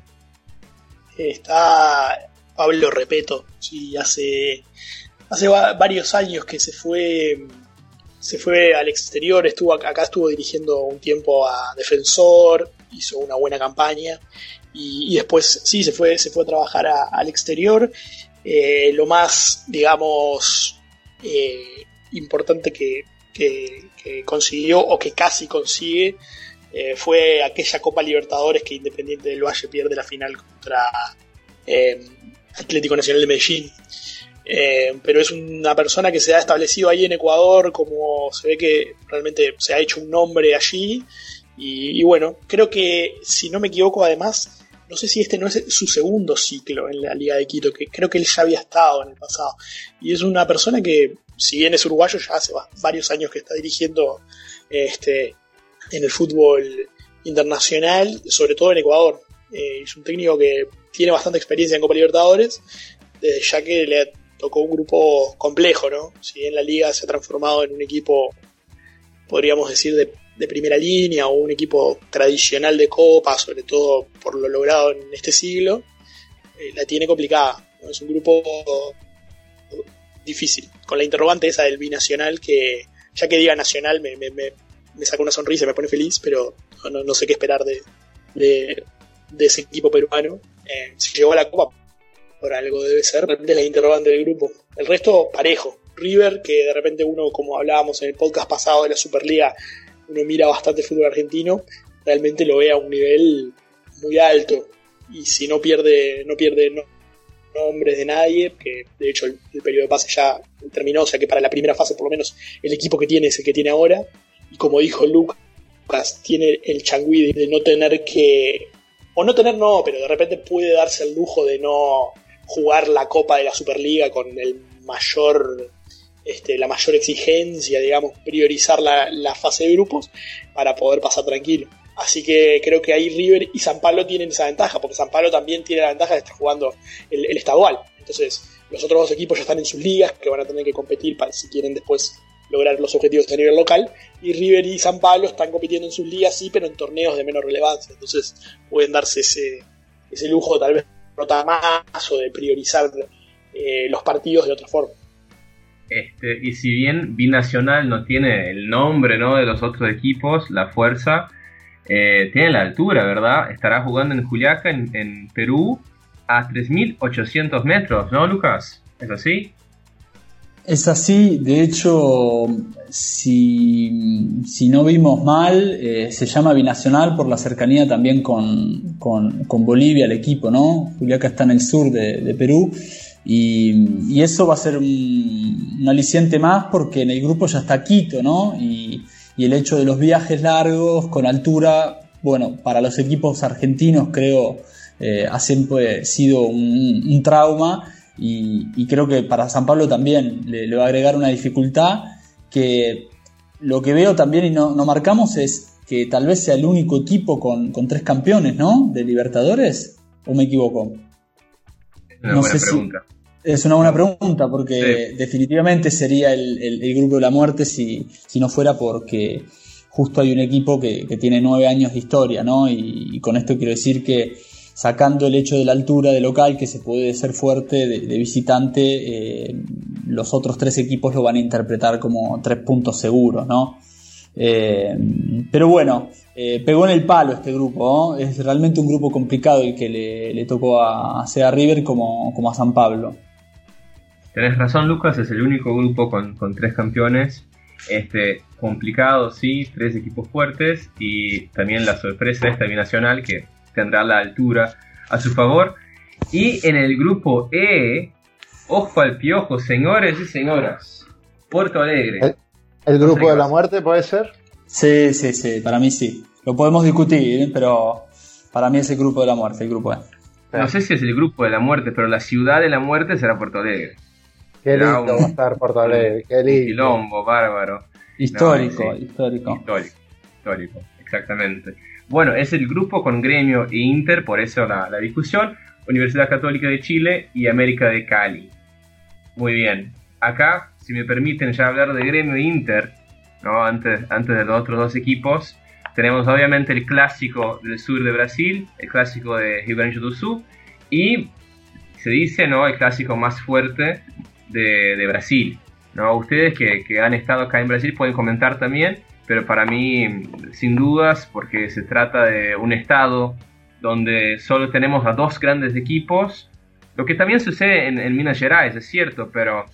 S4: Está Pablo Repeto, sí, hace, hace va- varios años que se fue, se fue al exterior, estuvo acá, acá estuvo dirigiendo un tiempo a Defensor, hizo una buena campaña y, y después sí se fue, se fue a trabajar a, al exterior. Eh, lo más, digamos, eh, importante que, que, que consiguió o que casi consigue eh, fue aquella Copa Libertadores que Independiente del Valle pierde la final contra eh, Atlético Nacional de Medellín. Eh, pero es una persona que se ha establecido ahí en Ecuador, como se ve que realmente se ha hecho un nombre allí. Y, y bueno, creo que, si no me equivoco, además, no sé si este no es su segundo ciclo en la Liga de Quito, que creo que él ya había estado en el pasado. Y es una persona que, si bien es uruguayo, ya hace varios años que está dirigiendo este, en el fútbol internacional, sobre todo en Ecuador. Eh, es un técnico que tiene bastante experiencia en Copa Libertadores, desde ya que le tocó un grupo complejo, ¿no? Si bien la Liga se ha transformado en un equipo, podríamos decir, de de primera línea o un equipo tradicional de Copa, sobre todo por lo logrado en este siglo, eh, la tiene complicada, ¿no? Es un grupo difícil, con la interrogante esa del binacional, que ya que diga nacional me, me, me, me saca una sonrisa y me pone feliz, pero no, no sé qué esperar de, de, de ese equipo peruano. Eh, si llegó a la Copa, por algo debe ser, realmente es la interrogante del grupo. El resto, parejo. River, que de repente uno, como hablábamos en el podcast pasado de la Superliga, uno mira bastante fútbol argentino, realmente lo ve a un nivel muy alto, y si no pierde no pierde no, nombres de nadie, que de hecho el, el periodo de pase ya terminó, o sea que para la primera fase por lo menos el equipo que tiene es el que tiene ahora, y como dijo Lucas, tiene el changüí de no tener que, o no tener no, pero de repente puede darse el lujo de no jugar la Copa de la Superliga con el mayor... Este, la mayor exigencia, digamos, priorizar la, la fase de grupos para poder pasar tranquilo. Así que creo que ahí River y San Pablo tienen esa ventaja, porque San Pablo también tiene la ventaja de estar jugando el, el estadual. Entonces, los otros dos equipos ya están en sus ligas, que van a tener que competir para si quieren después lograr los objetivos a nivel local. Y River y San Pablo están compitiendo en sus ligas, sí, pero en torneos de menor relevancia. Entonces, pueden darse ese, ese lujo, tal vez, de rotar más o de priorizar eh, los partidos de otra forma.
S2: Este, y si bien Binacional no tiene el nombre, ¿no?, de los otros equipos, la fuerza, eh, tiene la altura, ¿verdad? Estará jugando en Juliaca, en, en Perú, a tres mil ochocientos metros, ¿no, Lucas? ¿Es así?
S3: Es así, de hecho, si, si no vimos mal, eh, se llama Binacional por la cercanía también con, con, con Bolivia, el equipo, ¿no? Juliaca está en el sur de, de Perú. Y, y eso va a ser un, un aliciente más porque en el grupo ya está Quito, ¿no? Y, y el hecho de los viajes largos con altura, bueno, para los equipos argentinos creo eh, ha siempre sido un, un trauma, y, y creo que para San Pablo también le, le va a agregar una dificultad, que lo que veo también y no, no marcamos es que tal vez sea el único equipo con, con tres campeones, ¿no?, de Libertadores, ¿o me equivoco?
S2: Una
S3: no
S2: buena
S3: sé
S2: pregunta.
S3: Si es una buena pregunta, porque
S2: sí,
S3: definitivamente sería el, el, el grupo de la muerte si, si no fuera porque justo hay un equipo que, que tiene nueve años de historia, ¿no? Y, y con esto quiero decir que, sacando el hecho de la altura de local, que se puede ser fuerte, de, de visitante, eh, los otros tres equipos lo van a interpretar como tres puntos seguros, ¿no? Eh, pero bueno, eh, pegó en el palo este grupo, ¿no? Es realmente un grupo complicado el que le, le tocó a, a sea River como, como a San Pablo.
S2: Tenés razón, Lucas, es el único grupo con, con tres campeones. Este, complicado, sí, tres equipos fuertes, y también la sorpresa de esta binacional que tendrá la altura a su favor. Y en el grupo E, ojo al piojo, señores y señoras, Porto Alegre.
S5: ¿El, el grupo de la muerte puede ser?
S3: Sí, sí, sí, para mí sí. lo podemos discutir, pero para mí es el grupo de la muerte, el grupo E.
S2: No sé si es el grupo de la muerte, pero la ciudad de la muerte será Porto Alegre.
S5: Qué lindo un, va a estar Porto Alegre, qué lindo.
S2: Quilombo, bárbaro.
S3: Histórico,
S2: no, sí,
S3: histórico.
S2: Histórico, histórico, exactamente. Bueno, es el grupo con Gremio e Inter, por eso la, la discusión. Universidad Católica de Chile y América de Cali. Muy bien. Acá, si me permiten ya hablar de Gremio e Inter, ¿no? Antes, antes de los otros dos equipos, tenemos obviamente el clásico del sur de Brasil, el clásico de Rio Grande do Sul, y se dice, ¿no?, el clásico más fuerte de, de Brasil, ¿no? Ustedes que, que han estado acá en Brasil pueden comentar también, pero para mí, sin dudas, porque se trata de un estado donde solo tenemos a dos grandes equipos, lo que también sucede en, en Minas Gerais, es cierto, pero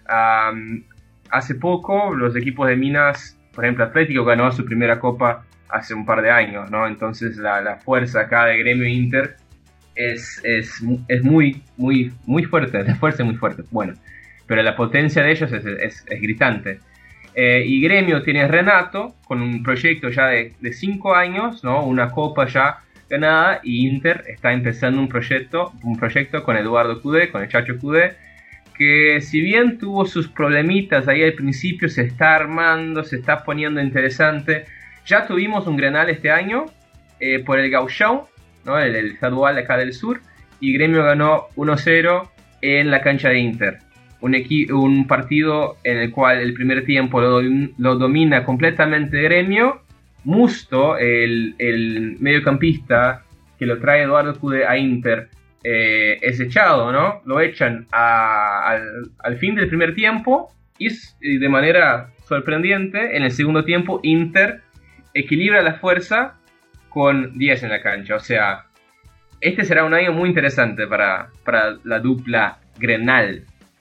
S2: um, hace poco los equipos de Minas, por ejemplo, Atlético ganó su primera copa hace un par de años, ¿no? Entonces la, la fuerza acá de Gremio e Inter es, es, es muy, muy, muy fuerte, la fuerza es muy fuerte, bueno, pero la potencia de ellos es, es, es gritante. Eh, y Gremio tiene a Renato con un proyecto ya de, de cinco años, ¿no? Una copa ya ganada, y Inter está empezando un proyecto, un proyecto con Eduardo Cudê, con el Chacho Cudê, que si bien tuvo sus problemitas ahí al principio, se está armando, se está poniendo interesante. Ya tuvimos un Grenal este año eh, por el Gauchão, ¿no? el, el estadual acá del sur, y Gremio ganó uno cero en la cancha de Inter. Un, equi- un partido en el cual el primer tiempo lo, lo domina completamente Gremio. Musto, el, el mediocampista que lo trae Eduardo Cudê a Inter, eh, es echado, ¿no? Lo echan a, al, al fin del primer tiempo y, y de manera sorprendente, en el segundo tiempo Inter equilibra la fuerza con diez en la cancha. O sea, este será un año muy interesante para, para la dupla Grenal.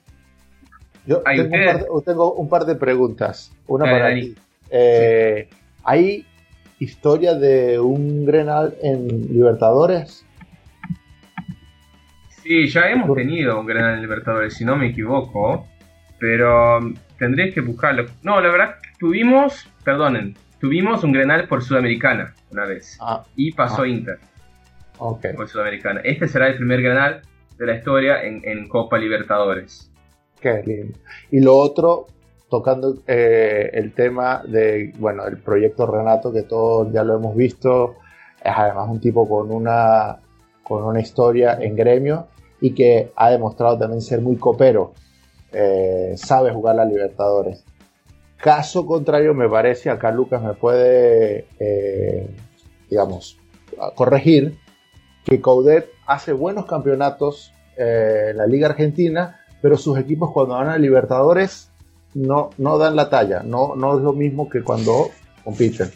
S5: Yo tengo un, par de, tengo un par de preguntas. Una Dale, para ti. Eh, sí. ¿Hay historia de un Grenal en Libertadores?
S2: Sí, ya hemos tenido un Grenal en Libertadores, si no me equivoco, pero tendréis que buscarlo. No, la verdad, tuvimos, perdonen, tuvimos un Grenal por Sudamericana una vez, ah, y pasó ah. Inter
S5: okay.
S2: por Sudamericana. Este será el primer Grenal de la historia en, en Copa Libertadores.
S5: Qué lindo. Y lo otro, tocando eh, el tema de, bueno, el proyecto Renato, que todos ya lo hemos visto, es además un tipo con una, con una historia en Gremio y que ha demostrado también ser muy copero, eh, sabe jugar la Libertadores. Caso contrario, me parece, acá Lucas me puede, eh, digamos, corregir, que Coudet hace buenos campeonatos eh, en la Liga Argentina, pero sus equipos cuando van a Libertadores no, no dan la talla, no, no es lo mismo que cuando compiten.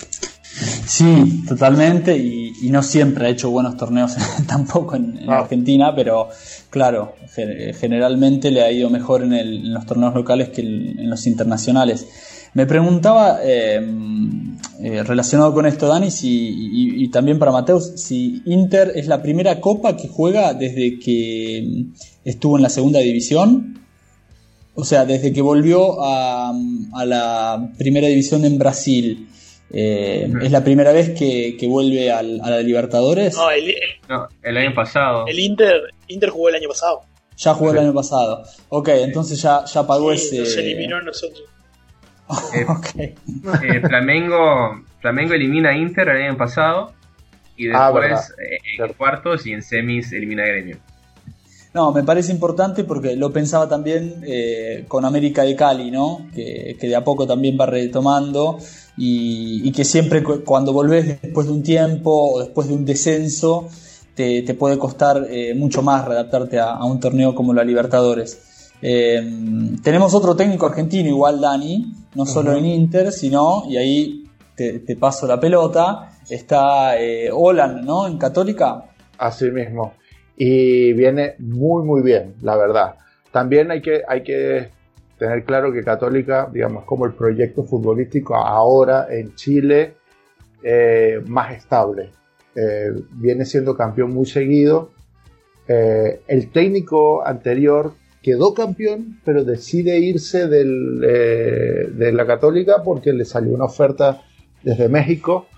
S3: Sí, totalmente, y, y no siempre ha hecho buenos torneos tampoco en, en ah. Argentina, pero claro, generalmente le ha ido mejor en, el, en los torneos locales que en, en los internacionales. Me preguntaba, eh, eh, relacionado con esto, Dani, si, y, y también para Mateus, si Inter es la primera copa que juega desde que estuvo en la segunda división, o sea, desde que volvió a, a la primera división en Brasil. Eh, uh-huh. ¿Es la primera vez que, que vuelve al, a la Libertadores?
S4: No el, el,
S2: no, el año pasado.
S4: El Inter, Inter jugó el año pasado.
S3: Ya jugó sí. el año pasado. Ok, sí. entonces ya, ya pagó sí, ese...
S4: Nos eliminó a nosotros.
S2: Eh, okay. eh, Flamengo, Flamengo elimina a Inter el año pasado y después ah, eh, en claro. cuartos y en semis elimina a Gremio.
S3: No, me parece importante porque lo pensaba también eh, con América de Cali, ¿no? Que, que de a poco también va retomando y, y que siempre cuando volvés después de un tiempo o después de un descenso te, te puede costar eh, mucho más readaptarte a, a un torneo como la Libertadores. Eh, tenemos otro técnico argentino igual, Dani, no solo uh-huh. en Inter, sino, y ahí te, te paso la pelota, está eh, Olan, ¿no? En Católica.
S5: Así mismo. Y viene muy muy bien, la verdad. También hay que, hay que tener claro que Católica, digamos, como el proyecto futbolístico ahora en Chile, eh, más estable. Eh, viene siendo campeón muy seguido. Eh, el técnico anterior quedó campeón, pero decide irse del, eh, de la Católica porque le salió una oferta desde México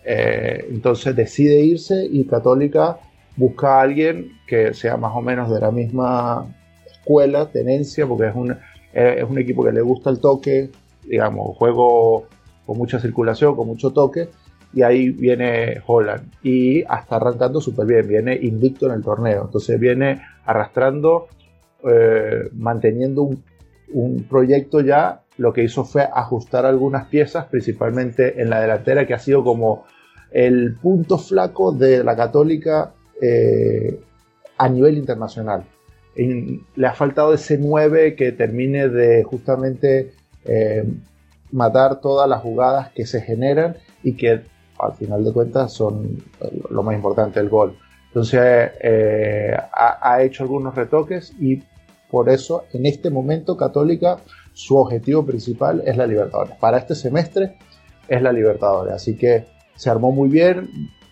S5: Eh, entonces decide irse y Católica busca a alguien que sea más o menos de la misma escuela, tenencia, porque es un, eh, es un equipo que le gusta el toque, digamos, juego con mucha circulación, con mucho toque, y ahí viene Holland y hasta arrancando súper bien, viene invicto en el torneo, entonces viene arrastrando, eh, manteniendo un, un proyecto ya. Lo que hizo fue ajustar algunas piezas, principalmente en la delantera, que ha sido como el punto flaco de la Católica eh, a nivel internacional. En, le ha faltado ese nueve que termine de justamente eh, matar todas las jugadas que se generan y que al final de cuentas son lo más importante, el gol. Entonces eh, ha, ha hecho algunos retoques y por eso en este momento Católica, su objetivo principal es la Libertadores. Para este semestre es la Libertadores. Así que se armó muy bien,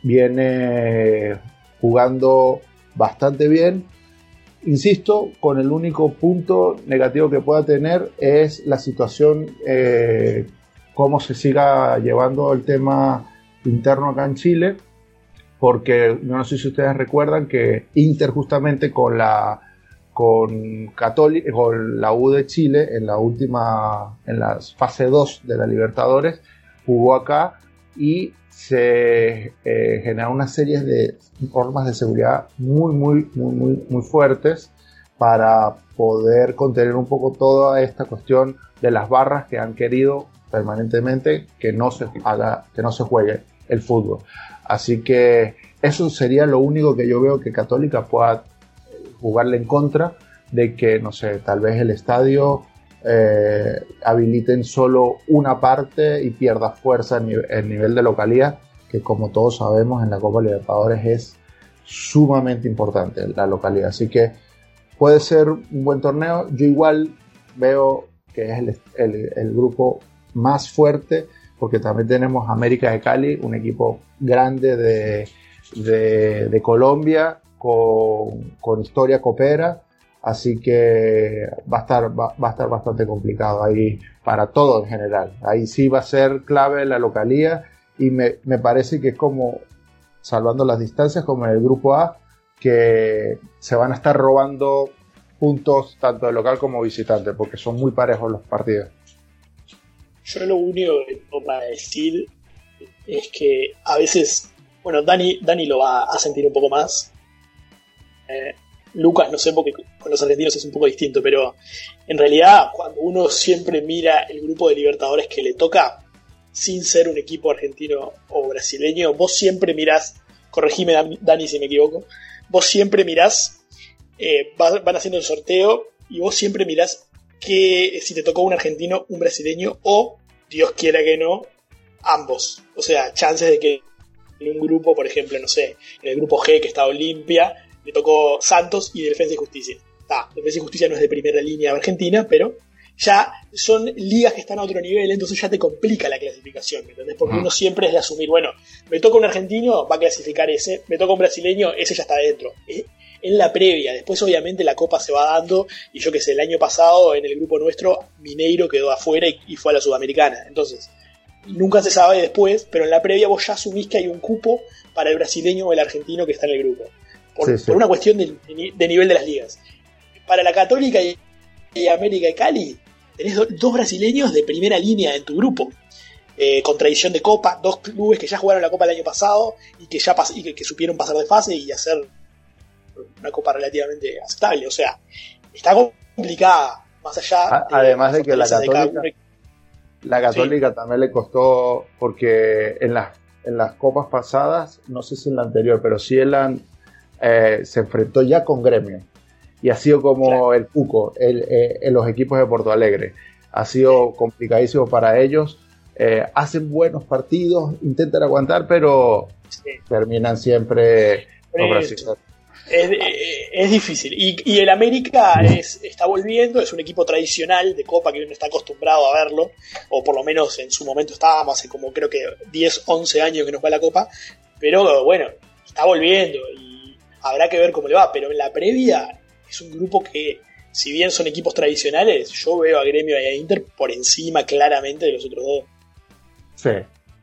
S5: viene jugando bastante bien. Insisto, con el único punto negativo que pueda tener es la situación, eh, cómo se siga llevando el tema interno acá en Chile, porque no sé si ustedes recuerdan que Inter justamente con la con Católica, con la U de Chile en la última, en la fase dos de la Libertadores, jugó acá y se eh, generaron una serie de normas de seguridad muy, muy, muy, muy, muy fuertes para poder contener un poco toda esta cuestión de las barras que han querido permanentemente que no se haga, que no se juegue el fútbol. Así que eso sería lo único que yo veo que Católica pueda jugarle en contra, de que, no sé, tal vez el estadio eh, habiliten solo una parte y pierda fuerza en el nivel de localidad, que como todos sabemos en la Copa Libertadores es sumamente importante la localidad. Así que puede ser un buen torneo. Yo igual veo que es el, el, el grupo más fuerte, porque también tenemos América de Cali, un equipo grande de, de, de Colombia, Con, con historia copera, así que va a estar va, va a estar bastante complicado ahí para todo en general. Ahí sí va a ser clave la localía y me, me parece que es como, salvando las distancias, como en el grupo A, que se van a estar robando puntos tanto de local como visitante, porque son muy parejos los partidos.
S4: Yo lo único que tengo para decir es que a veces, bueno, Dani, Dani lo va a sentir un poco más. Eh, Lucas, no sé, porque con los argentinos es un poco distinto, pero en realidad cuando uno siempre mira el grupo de Libertadores que le toca, sin ser un equipo argentino o brasileño, vos siempre mirás, corregime Dani si me equivoco, vos siempre mirás, eh, van haciendo el sorteo y vos siempre mirás que si te tocó un argentino, un brasileño o, Dios quiera que no, ambos. O sea, chances de que en un grupo, por ejemplo, no sé, en el grupo G que está Olimpia, le tocó Santos y Defensa y Justicia. Ah, Defensa y Justicia no es de primera línea de Argentina, pero ya son ligas que están a otro nivel, entonces ya te complica la clasificación, ¿me entendés? Porque uno siempre es de asumir, bueno, me toca un argentino, va a clasificar ese, me toca un brasileño, ese ya está adentro. En la previa, después obviamente la Copa se va dando, y yo que sé, el año pasado en el grupo nuestro, Mineiro quedó afuera y, y fue a la Sudamericana, entonces nunca se sabe después, pero en la previa vos ya asumís que hay un cupo para el brasileño o el argentino que está en el grupo. Por, sí, sí. por una cuestión de, de nivel de las ligas. Para la Católica y, y América de Cali, tenés do, dos brasileños de primera línea en tu grupo. Eh, con tradición de Copa, dos clubes que ya jugaron la Copa el año pasado y que ya pas, y que, que supieron pasar de fase y hacer una Copa relativamente aceptable. O sea, está complicada, más allá.
S5: A, de además de que la Católica, de la Católica sí. también le costó, porque en las, en las Copas pasadas, no sé si en la anterior, pero sí en la. Eh, se enfrentó ya con Gremio y ha sido como claro. el Cuco el, eh, en los equipos de Porto Alegre, ha sido sí. complicadísimo para ellos. Eh, hacen buenos partidos, intentan aguantar, pero sí. terminan siempre los brasileños.
S4: Es, es, es difícil y, y el América es, está volviendo, es un equipo tradicional de Copa que uno está acostumbrado a verlo, o por lo menos en su momento estábamos, hace como creo que diez, once años que nos va la Copa, pero bueno, está volviendo y habrá que ver cómo le va, pero en la previa es un grupo que, si bien son equipos tradicionales, yo veo a Gremio y a Inter por encima claramente de los otros dos.
S5: Sí,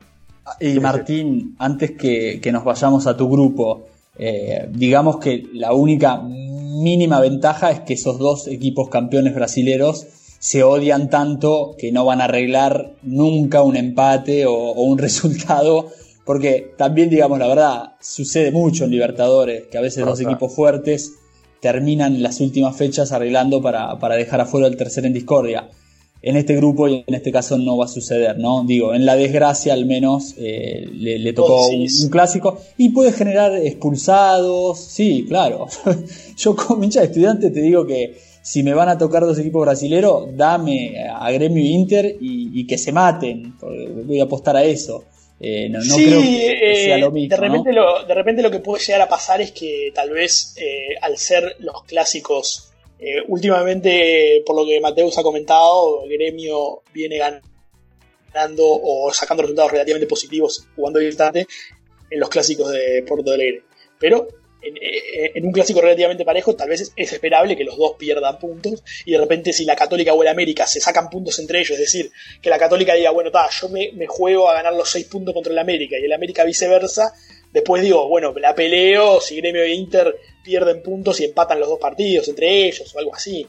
S3: Y Martín, antes que, que nos vayamos a tu grupo, eh, digamos que la única mínima ventaja es que esos dos equipos campeones brasileros se odian tanto que no van a arreglar nunca un empate o, o un resultado, porque también, digamos la verdad, sucede mucho en Libertadores, que a veces dos equipos fuertes terminan las últimas fechas arreglando para, para dejar afuera el tercero en discordia. En este grupo y en este caso no va a suceder, ¿no? Digo, en la desgracia al menos eh, le, le tocó un, un clásico y puede generar expulsados, sí, claro. Yo como hincha de Estudiante te digo que si me van a tocar dos equipos brasileros, dame a Gremio e Inter y, y que se maten, voy a apostar a eso. Eh, no, no
S4: sí,
S3: creo que sea lo mismo,
S4: de repente,
S3: ¿no?
S4: lo, de repente lo que puede llegar a pasar es que tal vez eh, al ser los clásicos, eh, últimamente, por lo que Mateus ha comentado, Gremio viene ganando o sacando resultados relativamente positivos jugando distante en los clásicos de Porto Alegre. Pero en, en un clásico relativamente parejo, tal vez es, es esperable que los dos pierdan puntos y de repente si la Católica o el América se sacan puntos entre ellos, es decir, que la Católica diga, bueno, ta, yo me, me juego a ganar los seis puntos contra el América y el América viceversa, después digo, bueno, la peleo, si Gremio e Inter pierden puntos y empatan los dos partidos entre ellos o algo así,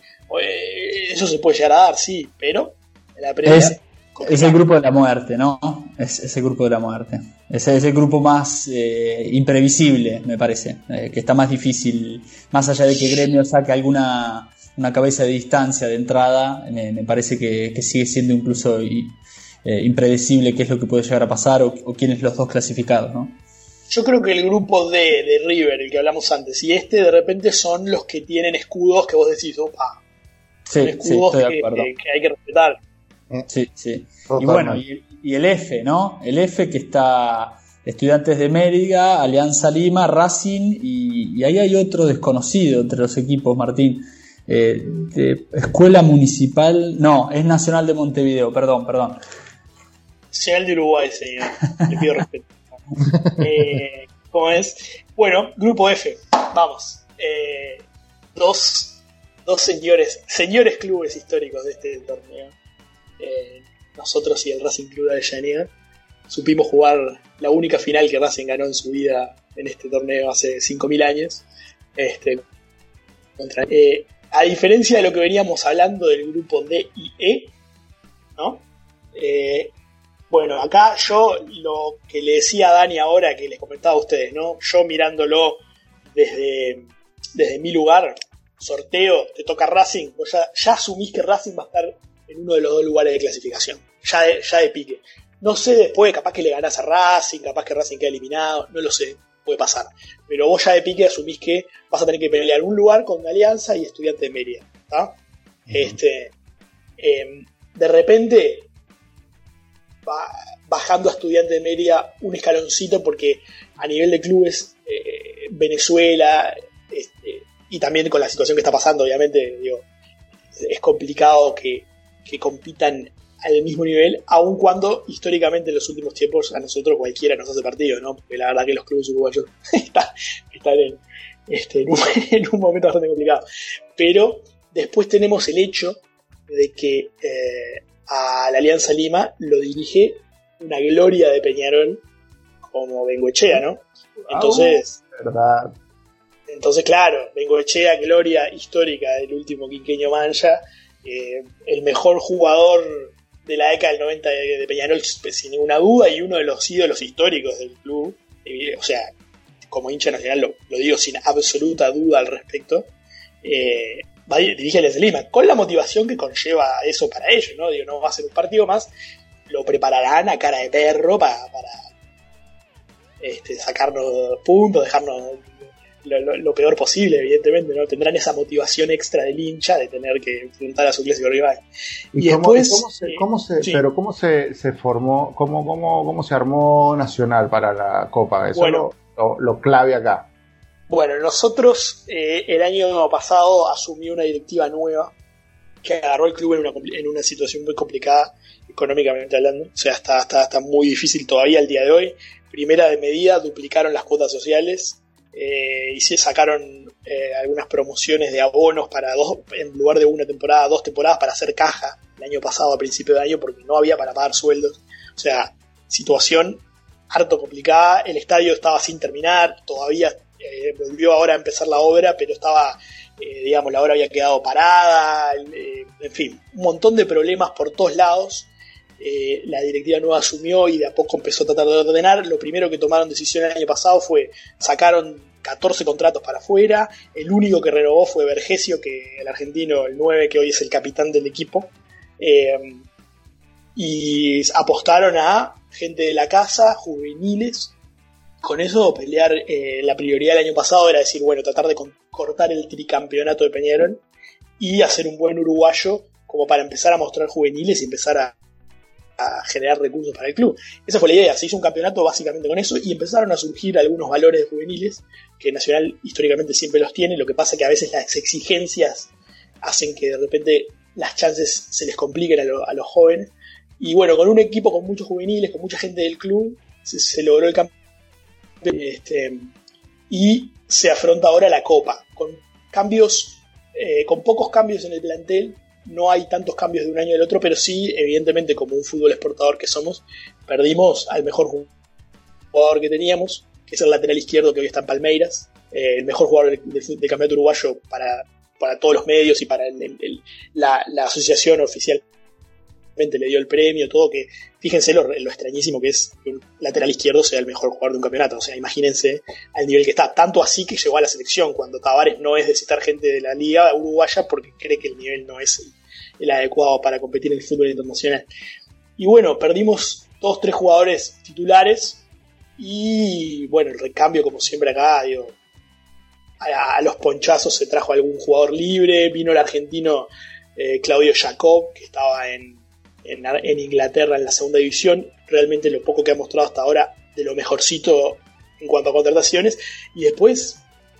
S4: eso se puede llegar a dar, sí, pero en la previa...
S3: Es, es el grupo de la muerte, ¿no? Es, es el grupo de la muerte. Es, es el grupo más eh, imprevisible, me parece, eh, que está más difícil, más allá de que Gremio saque alguna una cabeza de distancia de entrada, me, me parece que, que sigue siendo incluso y, eh, impredecible qué es lo que puede llegar a pasar o, o quiénes los dos clasificados, ¿no?
S4: Yo creo que el grupo D de River, el que hablamos antes, y este de repente son los que tienen escudos que vos decís, opa,
S3: sí,
S4: son escudos
S3: sí, estoy de
S4: que,
S3: acuerdo.
S4: que, que hay que respetar.
S3: Sí, sí. Y bueno, y, y el F, ¿no? El F que está Estudiantes de Mérida, Alianza Lima, Racing y, y ahí hay otro desconocido entre los equipos, Martín. Eh, de Escuela Municipal, no, es Nacional de Montevideo, perdón, perdón.
S4: Nacional de Uruguay, señor. Le pido respeto. eh, ¿Cómo es? Bueno, grupo F, vamos. Eh, dos, dos señores, señores clubes históricos de este torneo. Eh, nosotros y el Racing Club de Avellaneda supimos jugar la única final que Racing ganó en su vida en este torneo hace cinco mil años. Este, contra, eh, a diferencia de lo que veníamos hablando del grupo D y E, ¿no? Eh, bueno, acá yo lo que le decía a Dani ahora, que les comentaba a ustedes, ¿no? Yo mirándolo desde, desde mi lugar, sorteo, te toca Racing, vos ya, ya asumís que Racing va a estar en uno de los dos lugares de clasificación, ya de, ya de pique. No sé después, capaz que le ganás a Racing, capaz que Racing queda eliminado, no lo sé, puede pasar. Pero vos ya de pique asumís que vas a tener que pelear un lugar con Alianza y Estudiantes de Mérida, ¿tá? Uh-huh. Este, eh, de repente, va bajando a Estudiantes de Mérida un escaloncito, porque a nivel de clubes, eh, Venezuela, este, y también con la situación que está pasando, obviamente, digo, es complicado que que compitan al mismo nivel, aun cuando históricamente en los últimos tiempos a nosotros cualquiera nos hace partido, ¿no? Porque la verdad que los clubes uruguayos están, están en, este, en, un, en un momento bastante complicado. Pero después tenemos el hecho de que eh, a la Alianza Lima lo dirige una gloria de Peñarol como Bengoechea, ¿no? Entonces,
S5: ¿verdad?
S4: Entonces, claro, Bengoechea, gloria histórica del último quinquenio Mancha. Eh, el mejor jugador de la década del noventa de, de Peñarol sin ninguna duda y uno de los ídolos históricos del club, eh, o sea, como hincha nacional lo, lo digo sin absoluta duda al respecto, eh, va, dirige a Alianza Lima con la motivación que conlleva eso para ellos, ¿no? Digo, no va a ser un partido más, lo prepararán a cara de perro para, para este, sacarnos puntos, dejarnos Lo, lo, lo peor posible, evidentemente, ¿no? Tendrán esa motivación extra del hincha de tener que enfrentar a su clásico rival.
S5: Y, y cómo, después, ¿cómo se, cómo se, eh, sí. pero cómo se, se formó, cómo, cómo, cómo se armó Nacional para la Copa? Eso bueno, lo, lo, lo clave acá.
S4: Bueno, nosotros eh, el año pasado asumí una directiva nueva que agarró el club en una, en una situación muy complicada económicamente hablando, o sea, está, está, está muy difícil todavía al día de hoy. Primera de medida, duplicaron las cuotas sociales. Eh, y se sacaron eh, algunas promociones de abonos para dos, en lugar de una temporada, dos temporadas para hacer caja el año pasado a principio de año porque no había para pagar sueldos. O sea, situación harto complicada. El estadio estaba sin terminar, todavía eh, volvió ahora a empezar la obra, pero estaba, eh, digamos, la obra había quedado parada, eh, en fin, un montón de problemas por todos lados. Eh, la directiva nueva asumió y de a poco empezó a tratar de ordenar. Lo primero que tomaron decisión el año pasado fue, sacaron catorce contratos para afuera. El único que renovó fue Vergesio, que el argentino, el nueve, que hoy es el capitán del equipo. Eh, y apostaron a gente de la casa, juveniles. Con eso pelear, eh, la prioridad del año pasado era decir, bueno, tratar de con- cortar el tricampeonato de Peñarol y hacer un buen uruguayo como para empezar a mostrar juveniles y empezar a a generar recursos para el club. Esa fue la idea, se hizo un campeonato básicamente con eso y empezaron a surgir algunos valores de juveniles que Nacional históricamente siempre los tiene. Lo que pasa que a veces las exigencias hacen que de repente las chances se les compliquen a, lo, a los jóvenes, y bueno, con un equipo con muchos juveniles, con mucha gente del club, se, se logró el campeonato, este, y se afronta ahora la Copa con cambios, eh, con pocos cambios en el plantel. No hay tantos cambios de un año al otro, pero sí, evidentemente, como un fútbol exportador que somos, perdimos al mejor jugador que teníamos, que es el lateral izquierdo que hoy está en Palmeiras, eh, el mejor jugador del, del, del campeonato uruguayo para, para todos los medios y para el, el, el, la, la asociación oficialmente le dio el premio, todo, que fíjense lo, lo extrañísimo que es que un lateral izquierdo sea el mejor jugador de un campeonato. O sea, imagínense al nivel que está, tanto así que llegó a la selección, cuando Tavares no es de citar gente de la liga uruguaya porque cree que el nivel no es el, el adecuado para competir en el fútbol internacional. Y bueno, perdimos todos tres jugadores titulares y bueno, el recambio, como siempre acá, digo, a, a los ponchazos se trajo algún jugador libre. Vino el argentino eh, Claudio Jacob, que estaba en En, en Inglaterra en la segunda división, realmente lo poco que ha mostrado hasta ahora de lo mejorcito en cuanto a contrataciones. Y después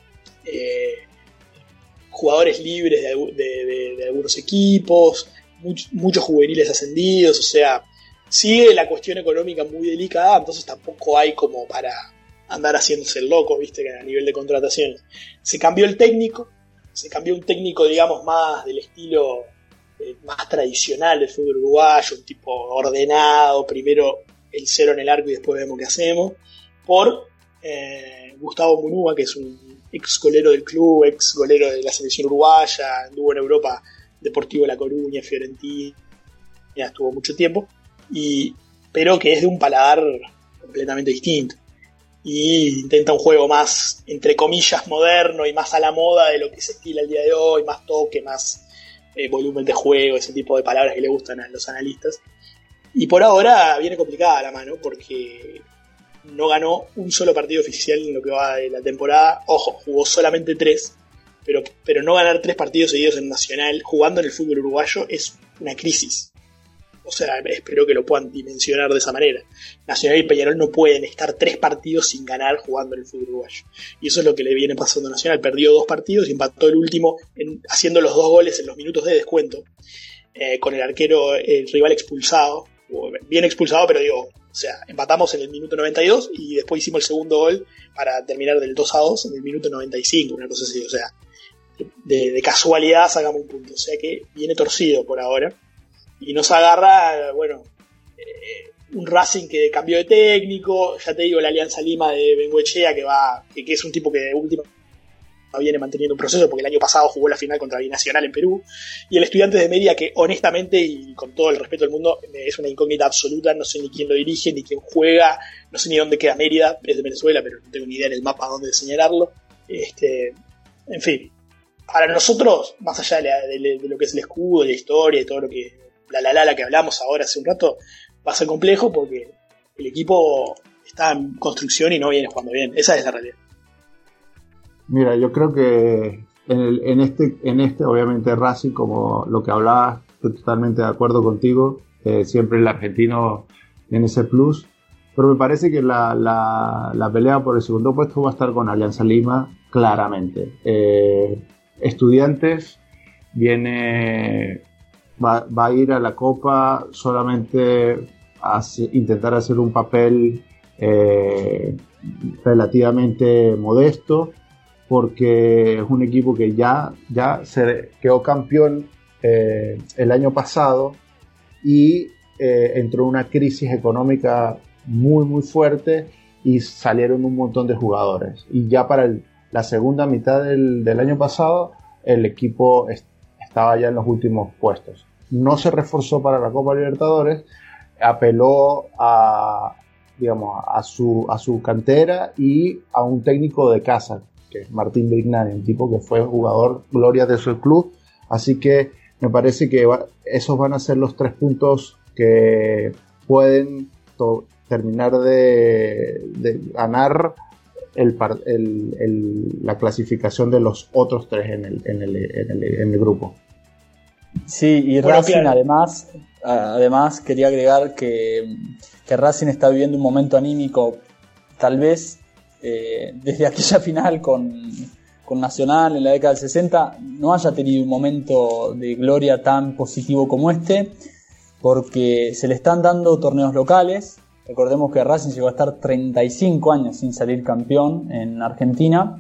S4: eh, jugadores libres de, de, de, de algunos equipos, much, muchos juveniles ascendidos. O sea, sigue la cuestión económica muy delicada, entonces tampoco hay como para andar haciéndose el loco, viste, que a nivel de contrataciones. Se cambió el técnico, se cambió un técnico, digamos, más del estilo más tradicional del fútbol uruguayo, un tipo ordenado, primero el cero en el arco y después vemos qué hacemos, por eh, Gustavo Munúa, que es un ex golero del club, ex golero de la selección uruguaya, anduvo en Europa, Deportivo La Coruña, Fiorentina, estuvo mucho tiempo, y, pero que es de un paladar completamente distinto, y intenta un juego más, entre comillas, moderno y más a la moda de lo que se estila el día de hoy, más toque, más Eh, volumen de juego, ese tipo de palabras que le gustan a los analistas. Y por ahora viene complicada la mano porque no ganó un solo partido oficial en lo que va de la temporada. Ojo, jugó solamente tres, pero, pero no ganar tres partidos seguidos en Nacional jugando en el fútbol uruguayo es una crisis. O sea, espero que lo puedan dimensionar de esa manera. Nacional y Peñarol no pueden estar tres partidos sin ganar jugando en el fútbol uruguayo. Y eso es lo que le viene pasando a Nacional. Perdió dos partidos y empató el último en, haciendo los dos goles en los minutos de descuento. Eh, con el arquero, el rival expulsado. Bien expulsado, pero digo, o sea, empatamos en el minuto noventa y dos y después hicimos el segundo gol para terminar del dos a dos en el minuto noventa y cinco, una cosa así. O sea, de, de casualidad sacamos un punto. O sea que viene torcido por ahora. Y nos agarra, bueno, eh, un Racing que cambió de técnico, ya te digo, la Alianza Lima de Bengoechea, que va, que, que es un tipo que de última viene manteniendo un proceso, porque el año pasado jugó la final contra Binacional en Perú, y el Estudiantes de Mérida, que honestamente, y con todo el respeto del mundo, es una incógnita absoluta, no sé ni quién lo dirige, ni quién juega, no sé ni dónde queda Mérida, es de Venezuela, pero no tengo ni idea en el mapa dónde señalarlo. Este, en fin, para nosotros, más allá de, la, de, de lo que es el escudo, de la historia, de todo lo que la la la la que hablamos ahora hace un rato, va a ser complejo porque el equipo está en construcción y no viene jugando bien. Esa es la realidad.
S5: Mira, yo creo que en, el, en este, en este obviamente Racing, como lo que hablabas, estoy totalmente de acuerdo contigo. Eh, siempre el argentino tiene ese plus, pero me parece que la, la, la pelea por el segundo puesto va a estar con Alianza Lima, claramente. Eh, Estudiantes viene... Va, va a ir a la Copa solamente a hacer, intentar hacer un papel eh, relativamente modesto, porque es un equipo que ya, ya se quedó campeón eh, el año pasado y eh, entró en una crisis económica muy muy fuerte y salieron un montón de jugadores. Y ya para el, la segunda mitad del, del año pasado el equipo est- estaba ya en los últimos puestos. No se reforzó para la Copa Libertadores, apeló a, digamos, a su, a su cantera y a un técnico de casa, que es Martín Brignani, un tipo que fue jugador gloria de su club. Así que me parece que va, esos van a ser los tres puntos que pueden to- terminar de, de ganar el, el, el, la clasificación de los otros tres en el, en el, en el, en el grupo.
S3: Sí, y
S4: Bueno,
S3: Racing
S4: claro.
S3: además, además quería agregar que, que Racing está viviendo un momento anímico, tal vez eh, desde aquella final con, con Nacional en la década del sesenta, no haya tenido un momento de gloria tan positivo como este, porque se le están dando torneos locales. Recordemos que Racing llegó a estar treinta y cinco años sin salir campeón en Argentina.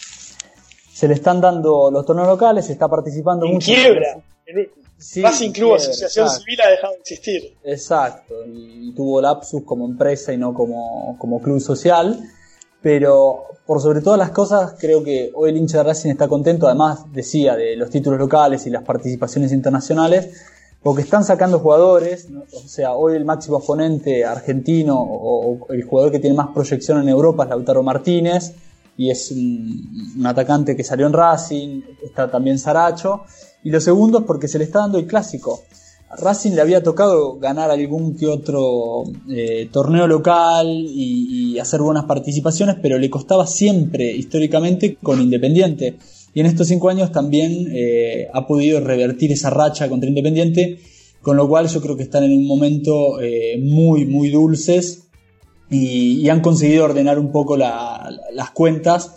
S3: Se le están dando los torneos locales, se está participando
S4: En
S3: mucho.
S4: quiebra. En-
S3: Sí,
S4: Racing Club
S3: quiebra,
S4: Asociación
S3: exacto.
S4: Civil ha dejado de existir.
S3: Exacto, y tuvo lapsus como empresa y no como, como club social, pero por sobre todas las cosas creo que hoy el hincha de Racing está contento, además decía de los títulos locales y las participaciones internacionales, porque están sacando jugadores, ¿no? O sea, hoy el máximo exponente argentino o, o el jugador que tiene más proyección en Europa es Lautaro Martínez, y es un, un atacante que salió en Racing, está también Saracho. Y lo segundo es porque se le está dando el clásico. A Racing le había tocado ganar algún que otro eh, torneo local y, y hacer buenas participaciones, pero le costaba siempre, históricamente, con Independiente. Y en estos cinco años también eh, ha podido revertir esa racha contra Independiente, con lo cual yo creo que están en un momento eh, muy, muy dulces y, y han conseguido ordenar un poco la, las cuentas.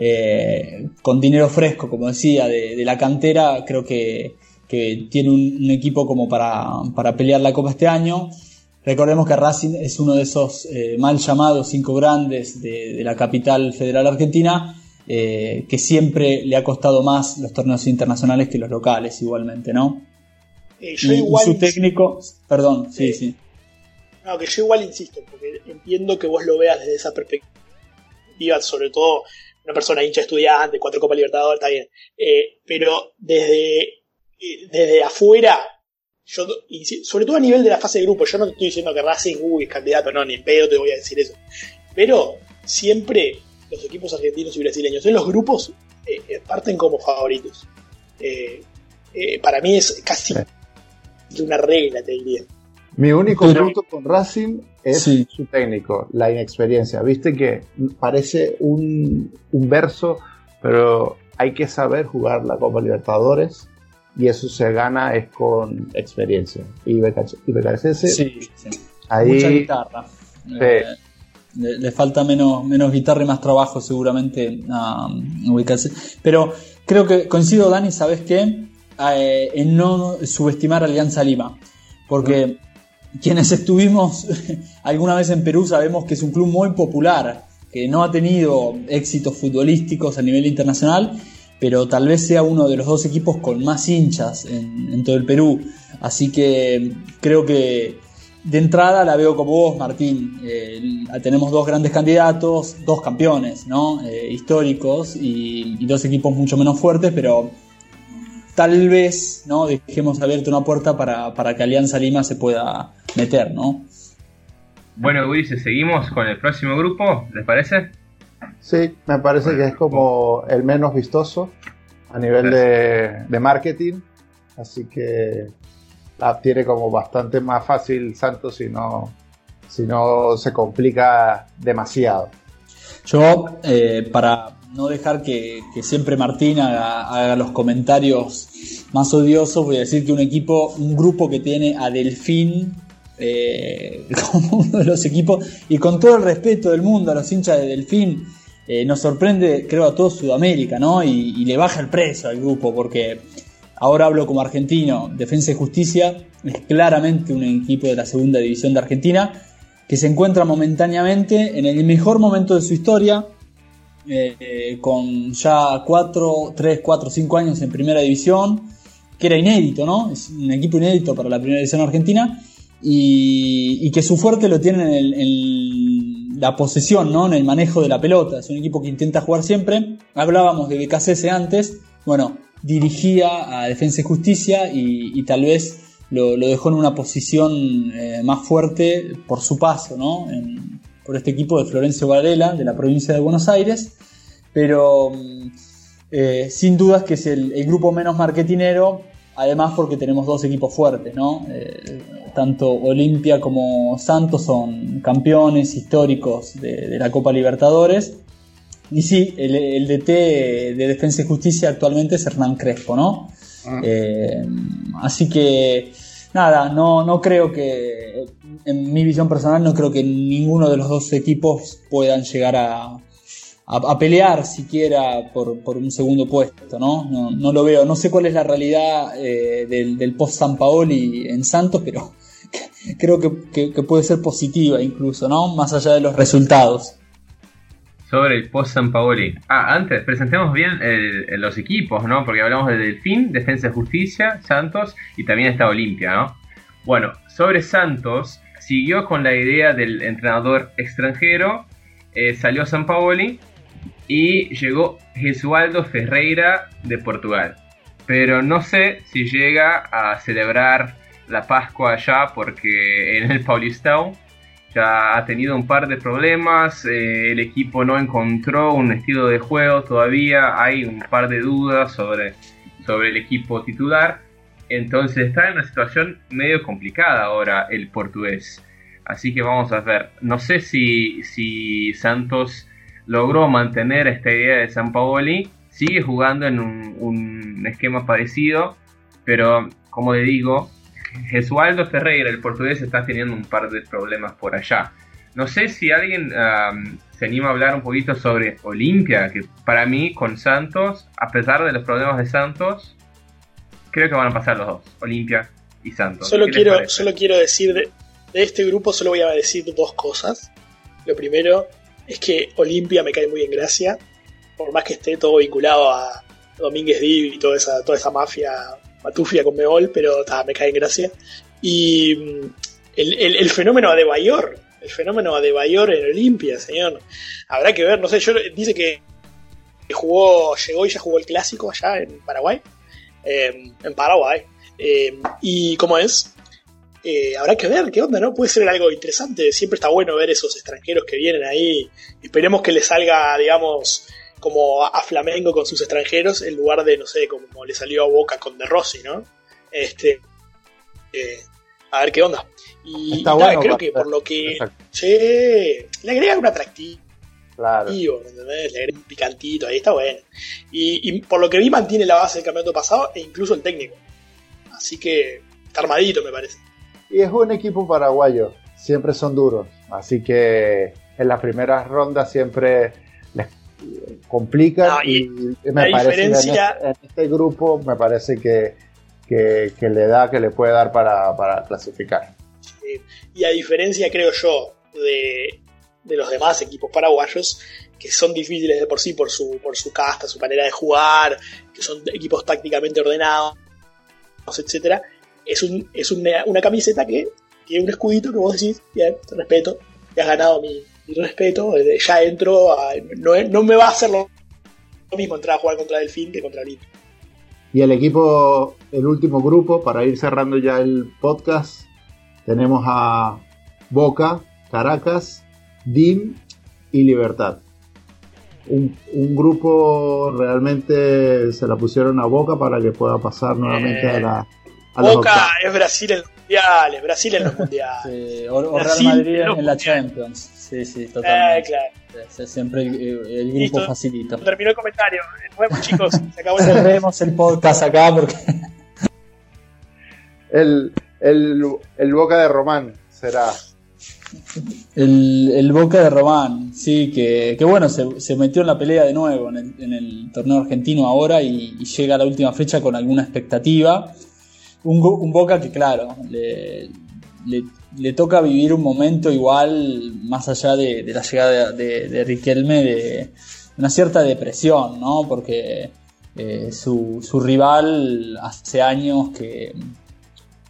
S3: Eh, con dinero fresco, como decía, de, de la cantera. Creo que, que tiene un, un equipo como para, para pelear la Copa este año. Recordemos que Racing es uno de esos eh, mal llamados cinco grandes de, de la capital federal argentina, eh, que siempre le ha costado más los torneos internacionales que los locales igualmente, ¿no?
S4: Eh, yo
S3: Y,
S4: igual
S3: y su
S4: insisto,
S3: técnico, perdón, sí,
S4: Eh,
S3: sí.
S4: no, que yo igual insisto, porque entiendo que vos lo veas desde esa perspectiva, sobre todo una persona hincha estudiante, cuatro Copas Libertadores, está bien. Eh, pero desde, eh, desde afuera, yo, sobre todo a nivel de la fase de grupo, yo no te estoy diciendo que Racing uy, es candidato, no, ni en pedo te voy a decir eso. Pero siempre los equipos argentinos y brasileños en los grupos eh, eh, parten como favoritos. Eh, eh, para mí es casi una regla, te diría.
S5: Mi único
S3: Pero-
S5: punto con Racing es
S3: Sí.
S5: su técnico, la inexperiencia. Viste que parece un, un verso, pero hay que saber jugar la Copa Libertadores y eso se gana es con experiencia. Y Becasese,
S3: Sí, sí.
S5: ahí
S3: Mucha guitarra.
S5: Sí.
S3: Eh, le, le falta menos, menos guitarra y más trabajo seguramente a ubicarse. Pero creo que coincido, Dani, ¿sabes qué? Eh, en no subestimar a Alianza Lima. Porque quienes estuvimos alguna vez en Perú sabemos que es un club muy popular, que no ha tenido éxitos futbolísticos a nivel internacional, pero tal vez sea uno de los dos equipos con más hinchas en, en todo el Perú. Así que creo que de entrada la veo como vos, Martín. Eh, tenemos dos grandes candidatos, dos campeones, ¿no? Eh, históricos y, y dos equipos mucho menos fuertes, pero tal vez, ¿no? Dejemos abierta una puerta para, para que Alianza Lima se pueda meter, ¿no?
S2: Bueno, Ulises, seguimos con el próximo grupo, ¿les parece?
S5: sí, me parece que es como el menos vistoso a nivel de, de marketing. Así que la tiene como bastante más fácil Santos si no, si no se complica demasiado.
S3: Yo, eh, para no dejar que, que siempre Martín haga, haga los comentarios más odiosos, voy a decir que un equipo, un grupo que tiene a Delfín eh, como uno de los equipos, y con todo el respeto del mundo a los hinchas de Delfín, eh, nos sorprende, creo, a todo Sudamérica, ¿no? Y, y le baja el precio al grupo, porque ahora hablo como argentino. Defensa y Justicia es claramente un equipo de la segunda división de Argentina que se encuentra momentáneamente en el mejor momento de su historia, eh, eh, con ya cuatro, tres, cuatro, cinco años en primera división, que era inédito, ¿no? Es un equipo inédito para la primera división argentina, y, y que su fuerte lo tiene en, el, en la posesión, ¿no? En el manejo de la pelota. Es un equipo que intenta jugar siempre. Hablábamos de B K C S antes. Bueno, dirigía a Defensa y Justicia y, y tal vez lo, lo dejó en una posición eh, más fuerte por su paso, ¿no? En, por este equipo de Florencio Varela, de la provincia de Buenos Aires. Pero eh, sin dudas que es el, el grupo menos marketinero, además porque tenemos dos equipos fuertes, ¿no? Eh, tanto Olimpia como Santos son campeones históricos de, de la Copa Libertadores. Y sí, el, el D T de Defensa y Justicia actualmente es Hernán Crespo, ¿no? Uh-huh. Eh, así que, nada, no, no creo que, en mi visión personal, no creo que ninguno de los dos equipos puedan llegar a, a, a pelear siquiera por, por un segundo puesto, ¿no? No, no lo veo. No sé cuál es la realidad eh, del, del post-Sampaoli en Santos, pero creo que, que, que puede ser positiva incluso, ¿no? Más allá de los resultados.
S2: Sobre el post-Sampaoli. Ah, antes, presentemos bien el, el, los equipos, ¿no? Porque hablamos de Delfín, Defensa y Justicia, Santos y también está Olimpia, ¿no? Bueno, sobre Santos, siguió con la idea del entrenador extranjero, eh, salió Sampaoli y llegó Jesualdo Ferreira de Portugal. Pero no sé si llega a celebrar la Pascua allá porque en el Paulistão ya ha tenido un par de problemas, eh, el equipo no encontró un estilo de juego todavía, hay un par de dudas sobre, sobre el equipo titular, entonces está en una situación medio complicada ahora el portugués, así que vamos a ver, no sé si, si Santos logró mantener esta idea de Sampaoli, sigue jugando en un, un esquema parecido, pero como le digo, Jesualdo Ferreira, el portugués, está teniendo un par de problemas por allá. No sé si alguien um, se anima a hablar un poquito sobre Olimpia, que para mí con Santos, a pesar de los problemas de Santos, creo que van a pasar los dos, Olimpia y Santos.
S4: Solo quiero, solo quiero decir, de, de este grupo solo voy a decir dos cosas. Lo primero es que Olimpia me cae muy en gracia, por más que esté todo vinculado a Domínguez Div y toda esa, toda esa mafia matufia con Meol, pero ta, me cae en gracia. Y el, el, el fenómeno Adebayor, el fenómeno Adebayor en Olimpia, señor. Habrá que ver, no sé, yo dice que jugó, llegó y ya jugó el clásico allá en Paraguay. Eh, en Paraguay. Eh, y cómo es, eh, habrá que ver qué onda, ¿no? Puede ser algo interesante. Siempre está bueno ver esos extranjeros que vienen ahí. Esperemos que les salga, digamos, como a Flamengo con sus extranjeros, en lugar de, no sé, como le salió a Boca con De Rossi, ¿no? Este, eh, a ver qué onda. Y, y bueno, nada, creo que por lo que che, le agrega un atractivo,
S5: claro,
S4: ¿entendés? Le agrega un picantito, ahí está bueno. Y, y por lo que vi mantiene la base del campeonato pasado e incluso el técnico. Así que está armadito, me parece.
S5: Y es un equipo paraguayo, siempre son duros, así que en las primeras rondas siempre les complican. No, y, y me parece diferencia... en, este, en este grupo me parece que, que, que le da, que le puede dar para, para clasificar.
S4: Sí. Y a diferencia, creo yo, de, de los demás equipos paraguayos, que son difíciles de por sí por su, por su casta, su manera de jugar, que son equipos tácticamente ordenados, etcétera, es, un, es una, una camiseta que tiene un escudito que vos decís, bien, te respeto, te has ganado mi, mi respeto, ya entro, a, no, no me va a hacer lo mismo entrar a jugar contra Delfín que contra Olimpia.
S5: Y el equipo, el último grupo, para ir cerrando ya el podcast, tenemos a Boca, Caracas, D I M y Libertad. Un, un grupo realmente se la pusieron a Boca para que pueda pasar nuevamente eh, a la a
S4: Boca es Brasil en los mundiales, Brasil en los mundiales.
S3: Sí, o, o Real Madrid en, en la Champions. Sí, sí, totalmente. Eh, claro. Sí, siempre el, el grupo Listo. Facilita.
S4: Terminó el comentario. Nos vemos, chicos. Se acabó el
S3: Cerremos el podcast acá porque
S5: el, el, el Boca de Román será.
S3: El, el Boca de Román, sí, que, que bueno, se, se metió en la pelea de nuevo en el, en el torneo argentino ahora y, y llega a la última fecha con alguna expectativa. Un, un Boca que, claro, le, le, le toca vivir un momento igual, más allá de, de la llegada de, de, de Riquelme, de una cierta depresión, ¿no? Porque eh, su, su rival hace años que,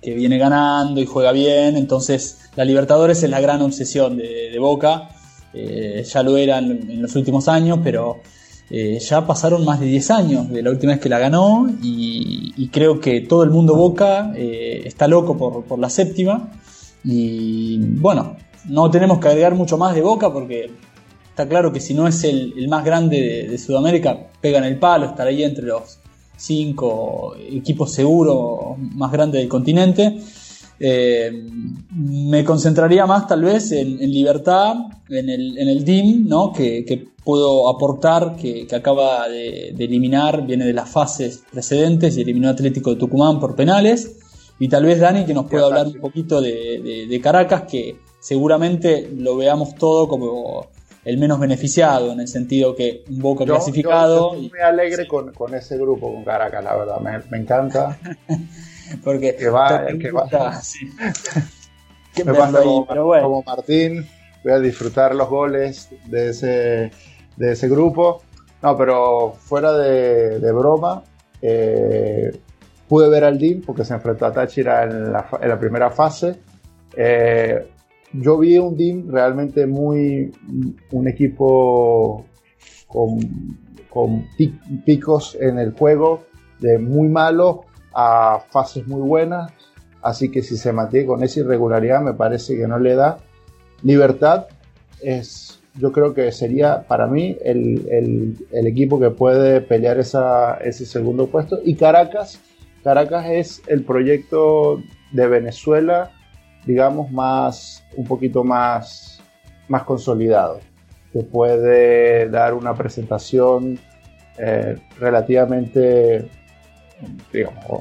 S3: que viene ganando y juega bien, entonces la Libertadores es la gran obsesión de, de Boca, eh, ya lo era en, en los últimos años, pero eh, ya pasaron más de diez años de la última vez que la ganó y, y creo que todo el mundo Boca eh, está loco por, por la séptima y bueno, no tenemos que agregar mucho más de Boca porque está claro que si no es el, el más grande de, de Sudamérica, pega en el palo, estará ahí entre los cinco equipos seguros más grandes del continente. Eh, me concentraría más tal vez en, en Libertad, en el, en el D I M, ¿no? que, que puedo aportar, que, que acaba de, de eliminar, viene de las fases precedentes y eliminó a Atlético de Tucumán por penales, y tal vez Dani que nos pueda hablar un poquito de, de, de Caracas, que seguramente lo veamos todo como el menos beneficiado, en el sentido que un Boca yo, clasificado.
S5: Yo estoy muy alegre sí. con, con ese grupo, con Caracas, la verdad, me, me encanta.
S3: Porque
S5: que va, que
S3: gusta,
S5: va.
S3: Sí.
S5: Me pasa como, bueno. como Martín, voy a disfrutar los goles de ese, de ese grupo. No, pero fuera de, de broma, eh, pude ver al D I M porque se enfrentó a Táchira en la, en la primera fase. Eh, Yo vi un D I M realmente muy, un equipo con, con picos en el juego, de muy malo a fases muy buenas, así que si se mantiene con esa irregularidad me parece que no le da. Libertad es, yo creo que sería para mí el, el, el equipo que puede pelear esa, ese segundo puesto, y Caracas, Caracas es el proyecto de Venezuela, digamos, más un poquito más, más consolidado, que puede dar una presentación eh, relativamente, digamos,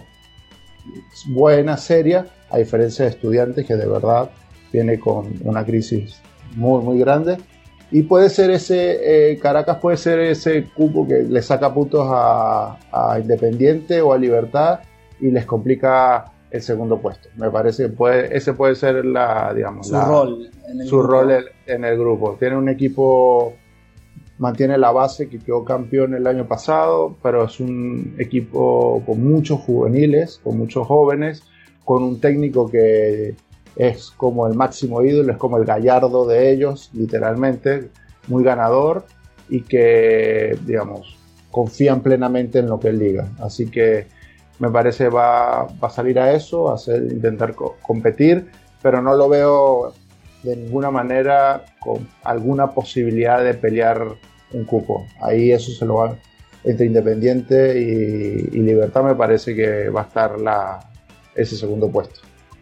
S5: buena, seria, a diferencia de Estudiantes, que de verdad viene con una crisis muy, muy grande. Y puede ser ese, eh, Caracas puede ser ese cupo que le saca puntos a, a Independiente o a Libertad y les complica el segundo puesto. Me parece que puede, ese puede ser la, digamos,
S3: su
S5: la,
S3: rol, en el
S5: su
S3: grupo.
S5: rol en el grupo. Tiene un equipo, mantiene la base que quedó campeón el año pasado, pero es un equipo con muchos juveniles, con muchos jóvenes, con un técnico que es como el máximo ídolo, es como el Gallardo de ellos, literalmente, muy ganador y que, digamos, confían plenamente en lo que él diga. Así que me parece va, va a salir a eso, a hacer, intentar co- competir, pero no lo veo de ninguna manera con alguna posibilidad de pelear un cupo. Ahí eso se lo va entre Independiente y, y Libertad, me parece que va a estar la, ese segundo puesto.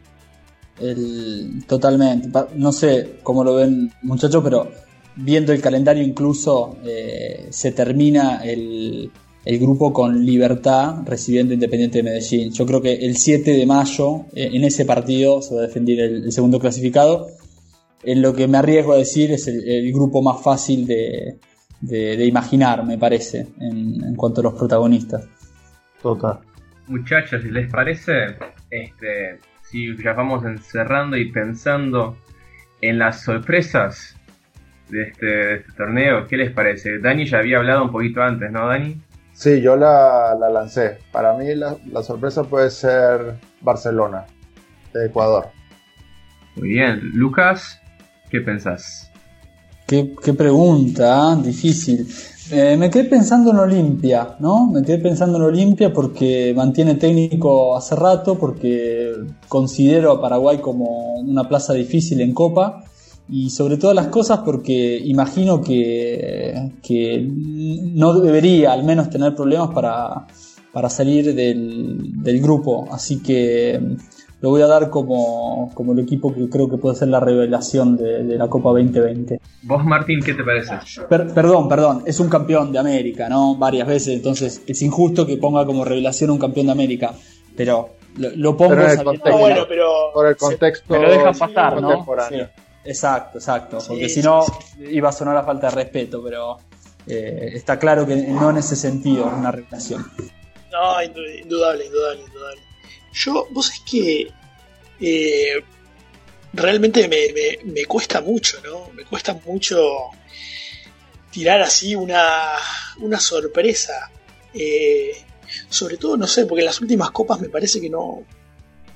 S3: El, totalmente, no sé cómo lo ven muchachos, pero viendo el calendario incluso eh, se termina el, el grupo con Libertad recibiendo Independiente de Medellín. Yo creo que el siete de mayo eh, en ese partido se va a defender el, el segundo clasificado. En lo que me arriesgo a decir es el, el grupo más fácil de, de, de imaginar, me parece, en, en cuanto a los protagonistas.
S5: Total.
S2: Muchachos, si les parece, este, si ya vamos encerrando y pensando en las sorpresas de este, de este torneo, ¿qué les parece? Dani ya había hablado un poquito antes, ¿no, Dani?
S5: Sí, yo la, la lancé. Para mí la, la sorpresa puede ser Barcelona, de Ecuador.
S2: Muy bien. Lucas, ¿qué pensás?
S3: Qué, qué pregunta, ¿eh? Difícil. Eh, me quedé pensando en Olimpia, ¿no? Me quedé pensando en Olimpia porque mantiene técnico hace rato, porque considero a Paraguay como una plaza difícil en Copa y sobre todas las cosas porque imagino que, que no debería al menos tener problemas para, para salir del, del grupo, así que lo voy a dar como, como el equipo que creo que puede ser la revelación de, de la Copa veinte veinte.
S2: ¿Vos, Martín, qué te parece?
S3: Per, perdón, perdón, es un campeón de América, ¿no? Varias veces, entonces es injusto que ponga como revelación un campeón de América, pero lo, lo pongo
S5: pero
S3: sabiendo
S4: no, bueno, pero
S5: por el contexto.
S3: me lo dejan pasar, ¿no?
S5: Sí,
S3: exacto, exacto, porque
S4: sí,
S3: si no
S4: sí, sí.
S3: iba a sonar a falta de respeto, pero eh, está claro que no en ese sentido es una revelación.
S4: No, indudable, indudable, indudable. Yo, vos es que eh, realmente me, me, me cuesta mucho, ¿no? Me cuesta mucho tirar así una, una sorpresa. Eh, sobre todo, no sé, porque en las últimas copas me parece que no,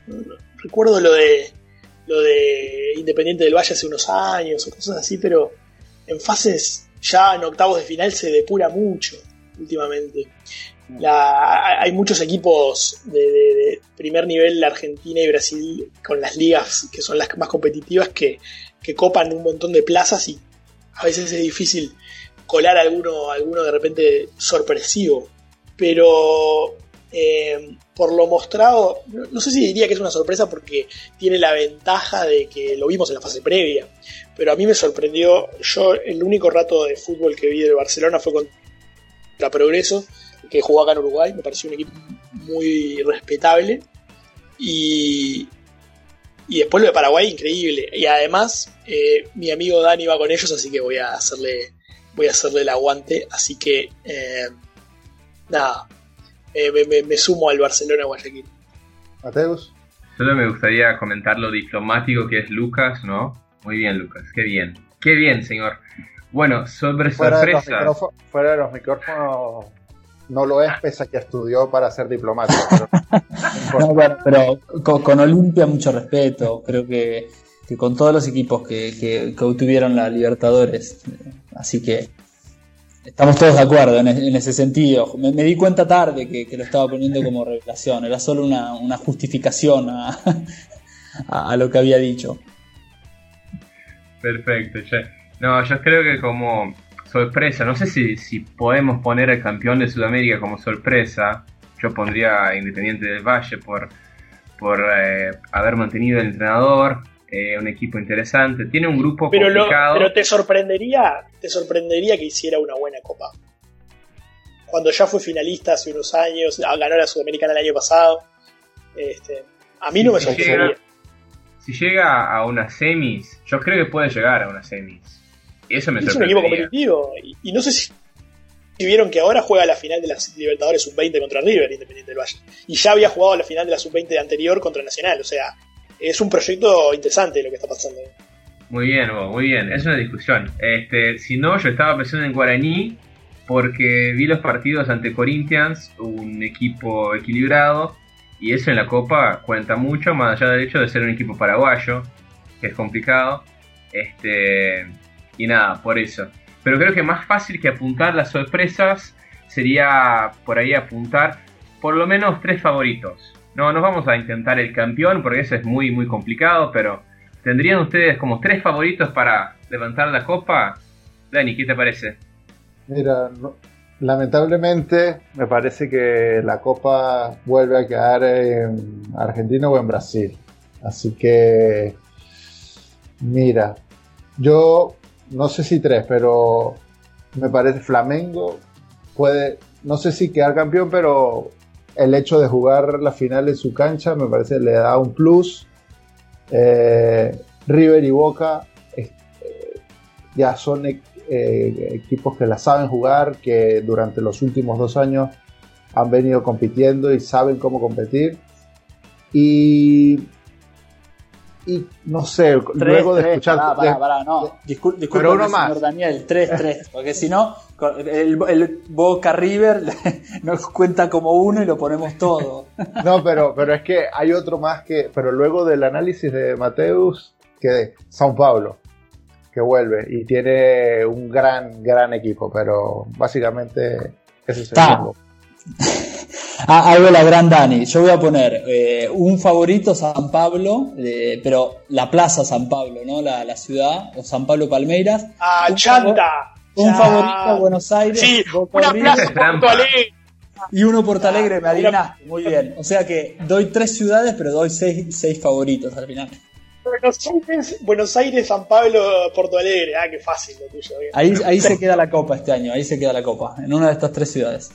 S4: recuerdo lo de lo de Independiente del Valle hace unos años o cosas así, pero en fases ya en octavos de final se depura mucho últimamente. La, hay muchos equipos de, de, de primer nivel, Argentina y Brasil, con las ligas que son las más competitivas, que, que copan un montón de plazas y a veces es difícil colar alguno, alguno de repente sorpresivo. Pero eh, por lo mostrado, no, no sé si diría que es una sorpresa porque tiene la ventaja de que lo vimos en la fase previa, pero a mí me sorprendió. Yo el único rato de fútbol que vi de Barcelona fue contra Progreso, que jugó acá en Uruguay. Me pareció un equipo muy respetable, y, y después lo de Paraguay, increíble. Y además eh, mi amigo Dani va con ellos, así que voy a hacerle voy a hacerle el aguante, así que eh, nada, eh, me, me, me sumo al Barcelona Guayaquil.
S5: Mateus.
S2: Solo me gustaría comentar lo diplomático que es Lucas, ¿no? Muy bien, Lucas, qué bien, qué bien, señor. Bueno, sobre
S5: fuera
S2: sorpresas.
S5: De los fuera de los micrófonos no lo es, pese a que estudió para ser diplomático. Pero,
S3: no, bueno, pero con, con Olimpia mucho respeto. Creo que, que con todos los equipos que, que, que obtuvieron la Libertadores. Así que estamos todos de acuerdo en, en ese sentido. Me, me di cuenta tarde que, que lo estaba poniendo como revelación. Era solo una, una justificación a, a, a lo que había dicho.
S2: Perfecto, che. No, yo creo que como sorpresa, no sé si, si podemos poner al campeón de Sudamérica como sorpresa. Yo pondría a Independiente del Valle por, por eh, haber mantenido el entrenador, eh, un equipo interesante. Tiene un grupo
S4: pero
S2: complicado.
S4: Lo, pero te sorprendería, te sorprendería que hiciera una buena copa. Cuando ya fue finalista hace unos años, ganó la Sudamericana el año pasado. Este, a mí no me sorprendería.
S2: Si llega a unas semis, yo creo que puede llegar a unas semis. Y eso me
S4: es un equipo competitivo. Y, y no sé si, si vieron que ahora juega la final de las Libertadores sub veinte contra River, Independiente del Valle. Y ya había jugado la final de la sub veinte de anterior contra Nacional. O sea, es un proyecto interesante lo que está pasando.
S2: Muy bien, Hugo, muy bien. Es una discusión. Este, si no, yo estaba pensando en Guaraní porque vi los partidos ante Corinthians, un equipo equilibrado. Y eso en la Copa cuenta mucho, más allá del hecho de ser un equipo paraguayo, que es complicado. Este, y nada, por eso. Pero creo que más fácil que apuntar las sorpresas sería por ahí apuntar por lo menos tres favoritos. No nos vamos a intentar el campeón porque eso es muy muy complicado, pero ¿tendrían ustedes como tres favoritos para levantar la Copa? Dani, ¿qué te parece?
S5: Mira, no, lamentablemente me parece que la Copa vuelve a quedar en Argentina o en Brasil. Así que, mira, yo no sé si tres, pero me parece Flamengo puede, no sé si quedar campeón, pero el hecho de jugar la final en su cancha me parece que le da un plus. Eh, River y Boca eh, ya son eh, equipos que la saben jugar, que durante los últimos dos años han venido compitiendo y saben cómo competir. Y Y no sé, tres, luego de tres, escuchar.
S3: Pará, pará, pará, no. Discul disculpe, señor Daniel, tres tres. Porque si no, el, el Boca River nos cuenta como uno y lo ponemos todo.
S5: No, pero, pero es que hay otro más que. Pero luego del análisis de Mateus, que São Paulo, que vuelve y tiene un gran, gran equipo. Pero básicamente ese es el equipo.
S3: Ah, algo la gran Dani. Yo voy a poner eh, un favorito San Pablo, eh, pero la plaza San Pablo, ¿no? La, la ciudad, o San Pablo Palmeiras.
S4: ¡Ah,
S3: un
S4: chanta!
S3: Un
S4: ya.
S3: favorito Buenos Aires.
S4: Sí,
S3: Boca
S4: una
S3: River,
S4: plaza Porto Alegre.
S3: Y uno Porto Alegre, me adivinaste. Muy bien. O sea que doy tres ciudades, pero doy seis, seis favoritos al final.
S4: Buenos Aires, Buenos Aires, San Pablo, Porto Alegre. Ah, qué fácil lo tuyo. Bien.
S3: Ahí, ahí se queda la copa este año. Ahí se queda la copa. En una de estas tres ciudades.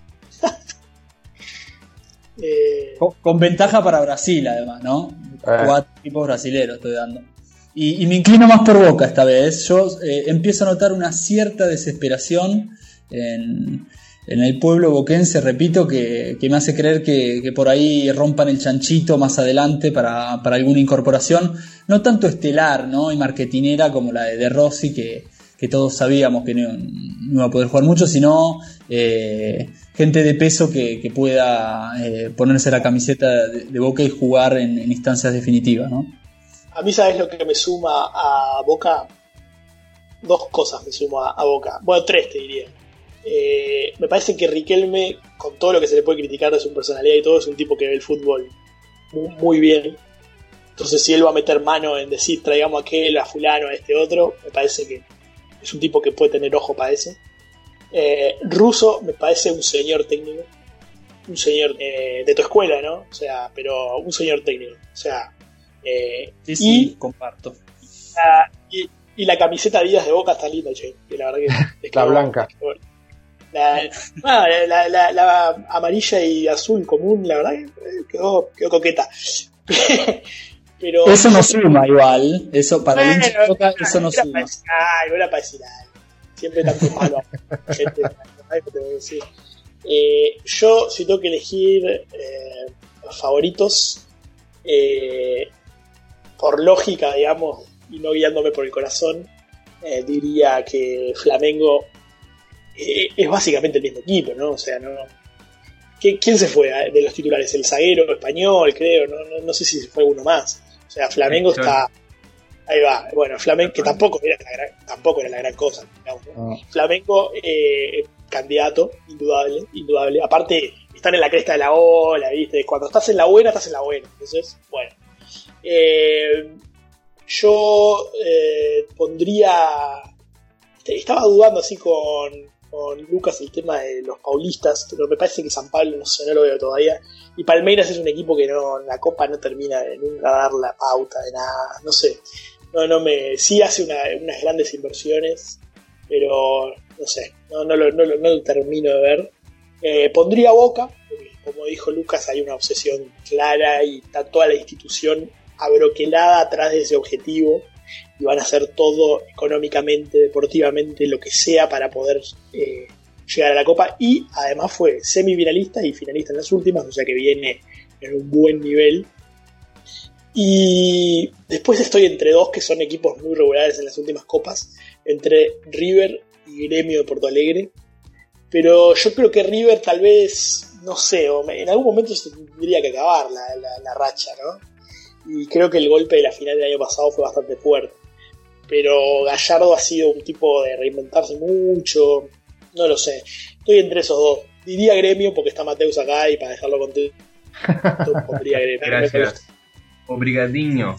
S3: Eh... Con, con ventaja para Brasil, además, ¿no? Eh. Cuatro equipos brasileros estoy dando. Y, y me inclino más por Boca esta vez. Yo eh, empiezo a notar una cierta desesperación en, en el pueblo boquense, repito, que, que me hace creer que, que por ahí rompan el chanchito más adelante para, para alguna incorporación, no tanto estelar, ¿no? Y marketinera como la de De Rossi, que, que todos sabíamos que no, no iba a poder jugar mucho, sino eh, gente de peso que, que pueda eh, ponerse la camiseta de, de Boca y jugar en, en instancias definitivas, ¿no?
S4: A mí, ¿sabes lo que me suma a Boca? Dos cosas me suma a, a Boca. Bueno, tres te diría. Eh, me parece que Riquelme, con todo lo que se le puede criticar de su personalidad y todo, es un tipo que ve el fútbol muy, muy bien. Entonces, si él va a meter mano en decir traigamos a aquel, a fulano, a este otro, me parece que es un tipo que puede tener ojo para eso. Eh, Russo me parece un señor técnico, un señor eh, de tu escuela, ¿no? O sea, pero un señor técnico. O sea, eh,
S3: sí, sí,
S4: y,
S3: comparto.
S4: La, y, y la camiseta Díaz de Boca está linda, che. Que la verdad que es
S5: la blanca.
S4: La, ah, la, la, la amarilla y azul común, la verdad que quedó, quedó coqueta. Pero
S3: eso no suma igual, eso para bueno, el hincha de Boca eso no suma.
S4: Ay, no era para decir algo. Siempre tanto malo gente, te voy a decir. Eh, yo, si tengo que elegir eh, favoritos, eh, por lógica, digamos, y no guiándome por el corazón, eh, diría que Flamengo eh, es básicamente el mismo equipo, ¿no? O sea, no. ¿Quién se fue de los titulares? El zaguero español, creo, no, no, no sé si fue uno más. O sea, Flamengo está. Ahí va. Bueno, Flamengo, que tampoco era la gran, tampoco era la gran cosa, digamos, ¿no? Flamengo, eh, candidato, indudable, indudable. Aparte, están en la cresta de la ola, ¿viste? Cuando estás en la buena, estás en la buena. Entonces, bueno. Eh, yo eh, pondría. Estaba dudando así con, con Lucas el tema de los paulistas, pero me parece que San Pablo, no sé, no lo veo todavía. Y Palmeiras es un equipo que no, la Copa no termina de nunca dar la pauta de nada, no sé. No, no me. Sí hace una, unas grandes inversiones, pero no sé, no, no, lo, no, lo, no lo termino de ver. Eh, pondría Boca, porque como dijo Lucas, hay una obsesión clara y está toda la institución abroquelada atrás de ese objetivo y van a hacer todo económicamente, deportivamente, lo que sea para poder eh, llegar a la Copa. Y además fue semifinalista y finalista en las últimas, o sea que viene en un buen nivel. Y después estoy entre dos que son equipos muy regulares en las últimas copas, entre River y Gremio de Porto Alegre. Pero yo creo que River tal vez, no sé, en algún momento se tendría que acabar la, la, la racha, ¿no? Y creo que el golpe de la final del año pasado fue bastante fuerte. Pero Gallardo ha sido un tipo de reinventarse mucho, no lo sé. Estoy entre esos dos. Diría Gremio porque está Mateus acá y para dejarlo contento pondría Gremio.
S2: Gracias. Obrigadinho.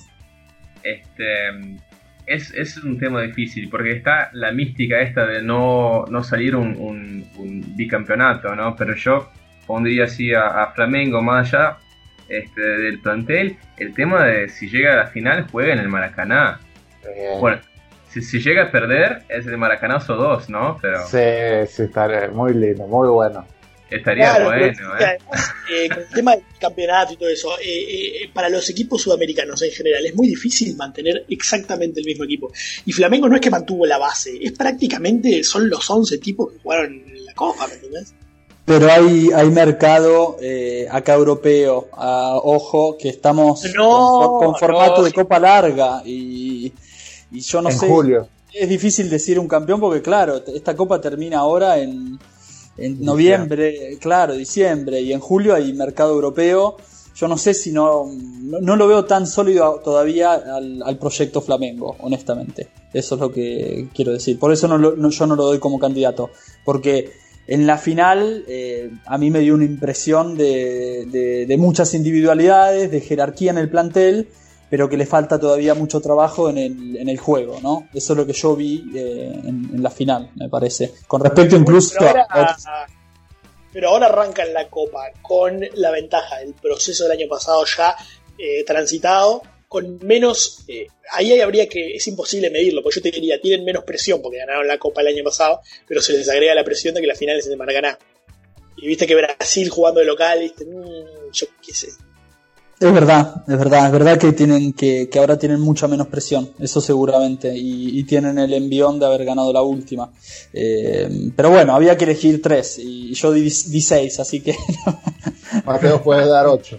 S2: Este, es, es un tema difícil porque está la mística esta de no, no salir un, un, un bicampeonato, ¿no? Pero yo pondría así a, a Flamengo más allá este, del plantel. El tema de si llega a la final juega en el Maracaná. Bien. Bueno, si, si llega a perder es el Maracanazo dos, ¿no? Pero
S5: sí, sí, estaría muy lindo, muy bueno.
S2: Estaría claro, bueno,
S4: pero, ¿eh? Además, eh, con el tema del campeonato y todo eso, eh, eh, para los equipos sudamericanos en general es muy difícil mantener exactamente el mismo equipo. Y Flamengo no es que mantuvo la base, es prácticamente, son los once tipos que jugaron en la Copa, ¿me entendés?
S3: Pero hay, hay mercado eh, acá europeo, a, ojo, que estamos
S4: no,
S3: con, con formato
S4: no,
S3: de Copa Larga y, y yo no
S5: en
S3: sé,
S5: julio. Es
S3: difícil decir un campeón porque claro, esta Copa termina ahora en... En noviembre, diciembre. claro, diciembre, y en julio hay mercado europeo. Yo no sé si no, no, no lo veo tan sólido todavía al, al proyecto Flamengo, honestamente. Eso es lo que quiero decir. Por eso no, lo, no yo no lo doy como candidato. Porque en la final eh, a mí me dio una impresión de, de, de muchas individualidades, de jerarquía en el plantel, pero que le falta todavía mucho trabajo en el, en el juego, ¿no? Eso es lo que yo vi eh, en, en la final, me parece. Con respecto incluso
S4: pero ahora,
S3: a...
S4: Pero ahora arranca en la Copa con la ventaja del proceso del año pasado ya eh, transitado, con menos... Eh, ahí habría que... Es imposible medirlo, porque yo te diría, tienen menos presión porque ganaron la Copa el año pasado, pero se les agrega la presión de que la final es en el Maracaná. Y viste que Brasil jugando de local, viste, mmm, yo qué sé.
S3: Es verdad, es verdad, es verdad que tienen que, que ahora tienen mucha menos presión, eso seguramente, y, y tienen el envión de haber ganado la última. Eh, pero bueno, había que elegir tres, y yo di, di seis, así que...
S5: Mateo puede dar ocho.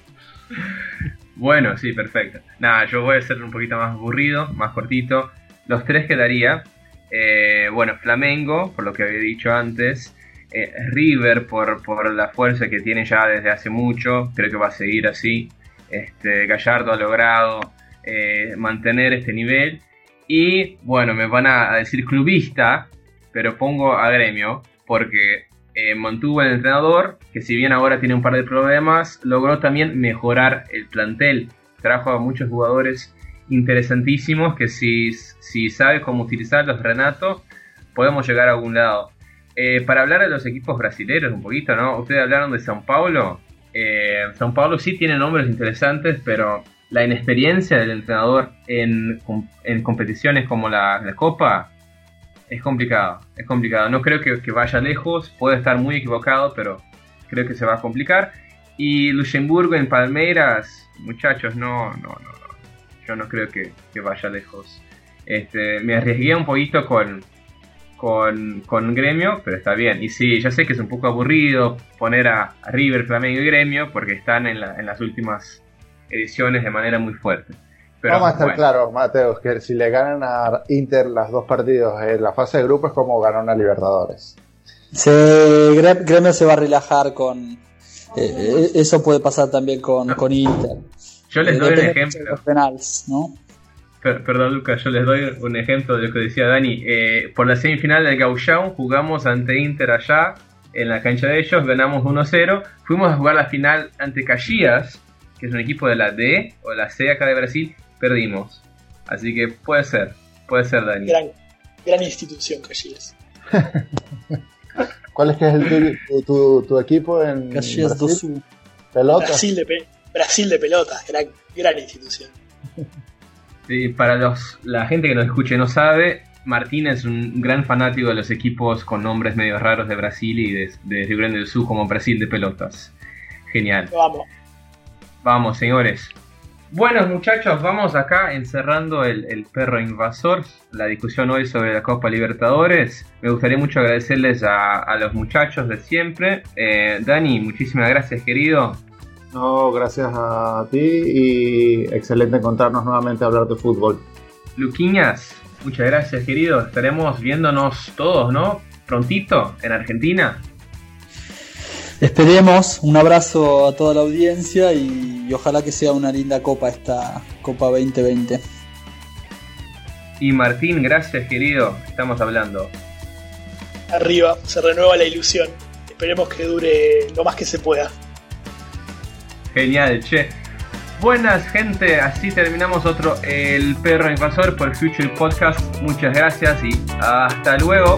S2: Bueno, sí, perfecto. Nada, yo voy a ser un poquito más aburrido, más cortito. Los tres que daría, Eh, bueno, Flamengo, por lo que había dicho antes. Eh, River, por, por la fuerza que tiene ya desde hace mucho. Creo que va a seguir así. Este, Gallardo ha logrado eh, mantener este nivel. Y bueno, me van a decir clubista, pero pongo a Gremio, porque eh, mantuvo el entrenador, que si bien ahora tiene un par de problemas, logró también mejorar el plantel. Trajo a muchos jugadores interesantísimos que si, si sabe cómo utilizarlos Renato, podemos llegar a algún lado. Eh, para hablar de los equipos brasileños un poquito, ¿no? Ustedes hablaron de São Paulo. Eh, São Paulo sí tiene nombres interesantes, pero la inexperiencia del entrenador en, en competiciones como la, la Copa es complicado, es complicado. No creo que, que vaya lejos, puede estar muy equivocado, pero creo que se va a complicar. Y Luxemburgo en Palmeiras, muchachos, no, no, no, no. Yo no creo que, que vaya lejos. Este, me arriesgué un poquito con, con, con Gremio, pero está bien. Y sí, ya sé que es un poco aburrido poner a, a River, Flamengo y Gremio, porque están en, la, en las últimas ediciones de manera muy fuerte. Pero,
S5: vamos a estar
S2: bueno.
S5: claros, Mateo, que si le ganan a Inter las dos partidos en la fase de grupo es como ganar una Libertadores.
S3: Se, Gremio se va a relajar con... Eh, eso puede pasar también con, con Inter.
S2: Yo les
S3: Eh,
S2: doy un
S3: depende
S2: ejemplo.
S3: de los penales, ¿no?
S2: Per- perdón, Lucas, yo les doy un ejemplo de lo que decía Dani. Eh, por la semifinal del Gauchão jugamos ante Inter allá, en la cancha de ellos, ganamos uno cero. Fuimos a jugar la final ante Caxias, que es un equipo de la D o la C acá de Brasil, perdimos. Así que puede ser, puede ser, Dani.
S4: Gran, gran institución, Caxias.
S5: ¿Cuál es que es el tuyo- tu, tu, tu equipo en
S3: Caxias do
S5: Brasil?
S3: Sul.
S5: ¿Pelota?
S4: Brasil de, pe- Brasil de pelotas, gran, gran institución.
S2: Sí, para los, la gente que nos escuche y no sabe, Martín es un gran fanático de los equipos con nombres medio raros de Brasil y de, de Rio Grande do Sul, como Brasil de pelotas. Genial.
S4: Vamos.
S2: Vamos, señores. Bueno, muchachos, vamos acá encerrando el, el perro invasor, la discusión hoy sobre la Copa Libertadores. Me gustaría mucho agradecerles a, a los muchachos de siempre. Eh, Dani, muchísimas gracias, querido.
S5: No, gracias a ti y excelente encontrarnos nuevamente a hablar de fútbol.
S2: Luquiñas, muchas gracias, querido. Estaremos viéndonos todos, ¿no? Prontito, en Argentina.
S3: Esperemos, un abrazo a toda la audiencia y, y ojalá que sea una linda copa esta Copa veinte veinte.
S2: Y Martín, gracias, querido. Estamos hablando.
S4: Arriba, se renueva la ilusión. Esperemos que dure lo más que se pueda.
S2: Genial, che. Buenas, gente. Así terminamos otro El Perro Invasor por Future Podcast. Muchas gracias y hasta luego.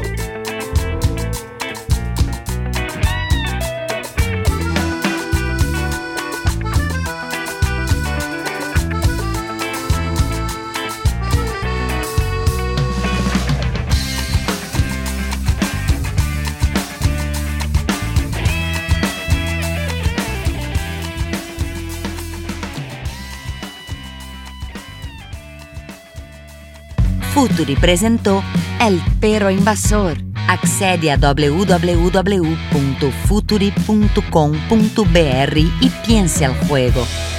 S1: Futuri presentó El Perro Invasor. Accede a w w w punto futuri punto com punto b r y piense al juego.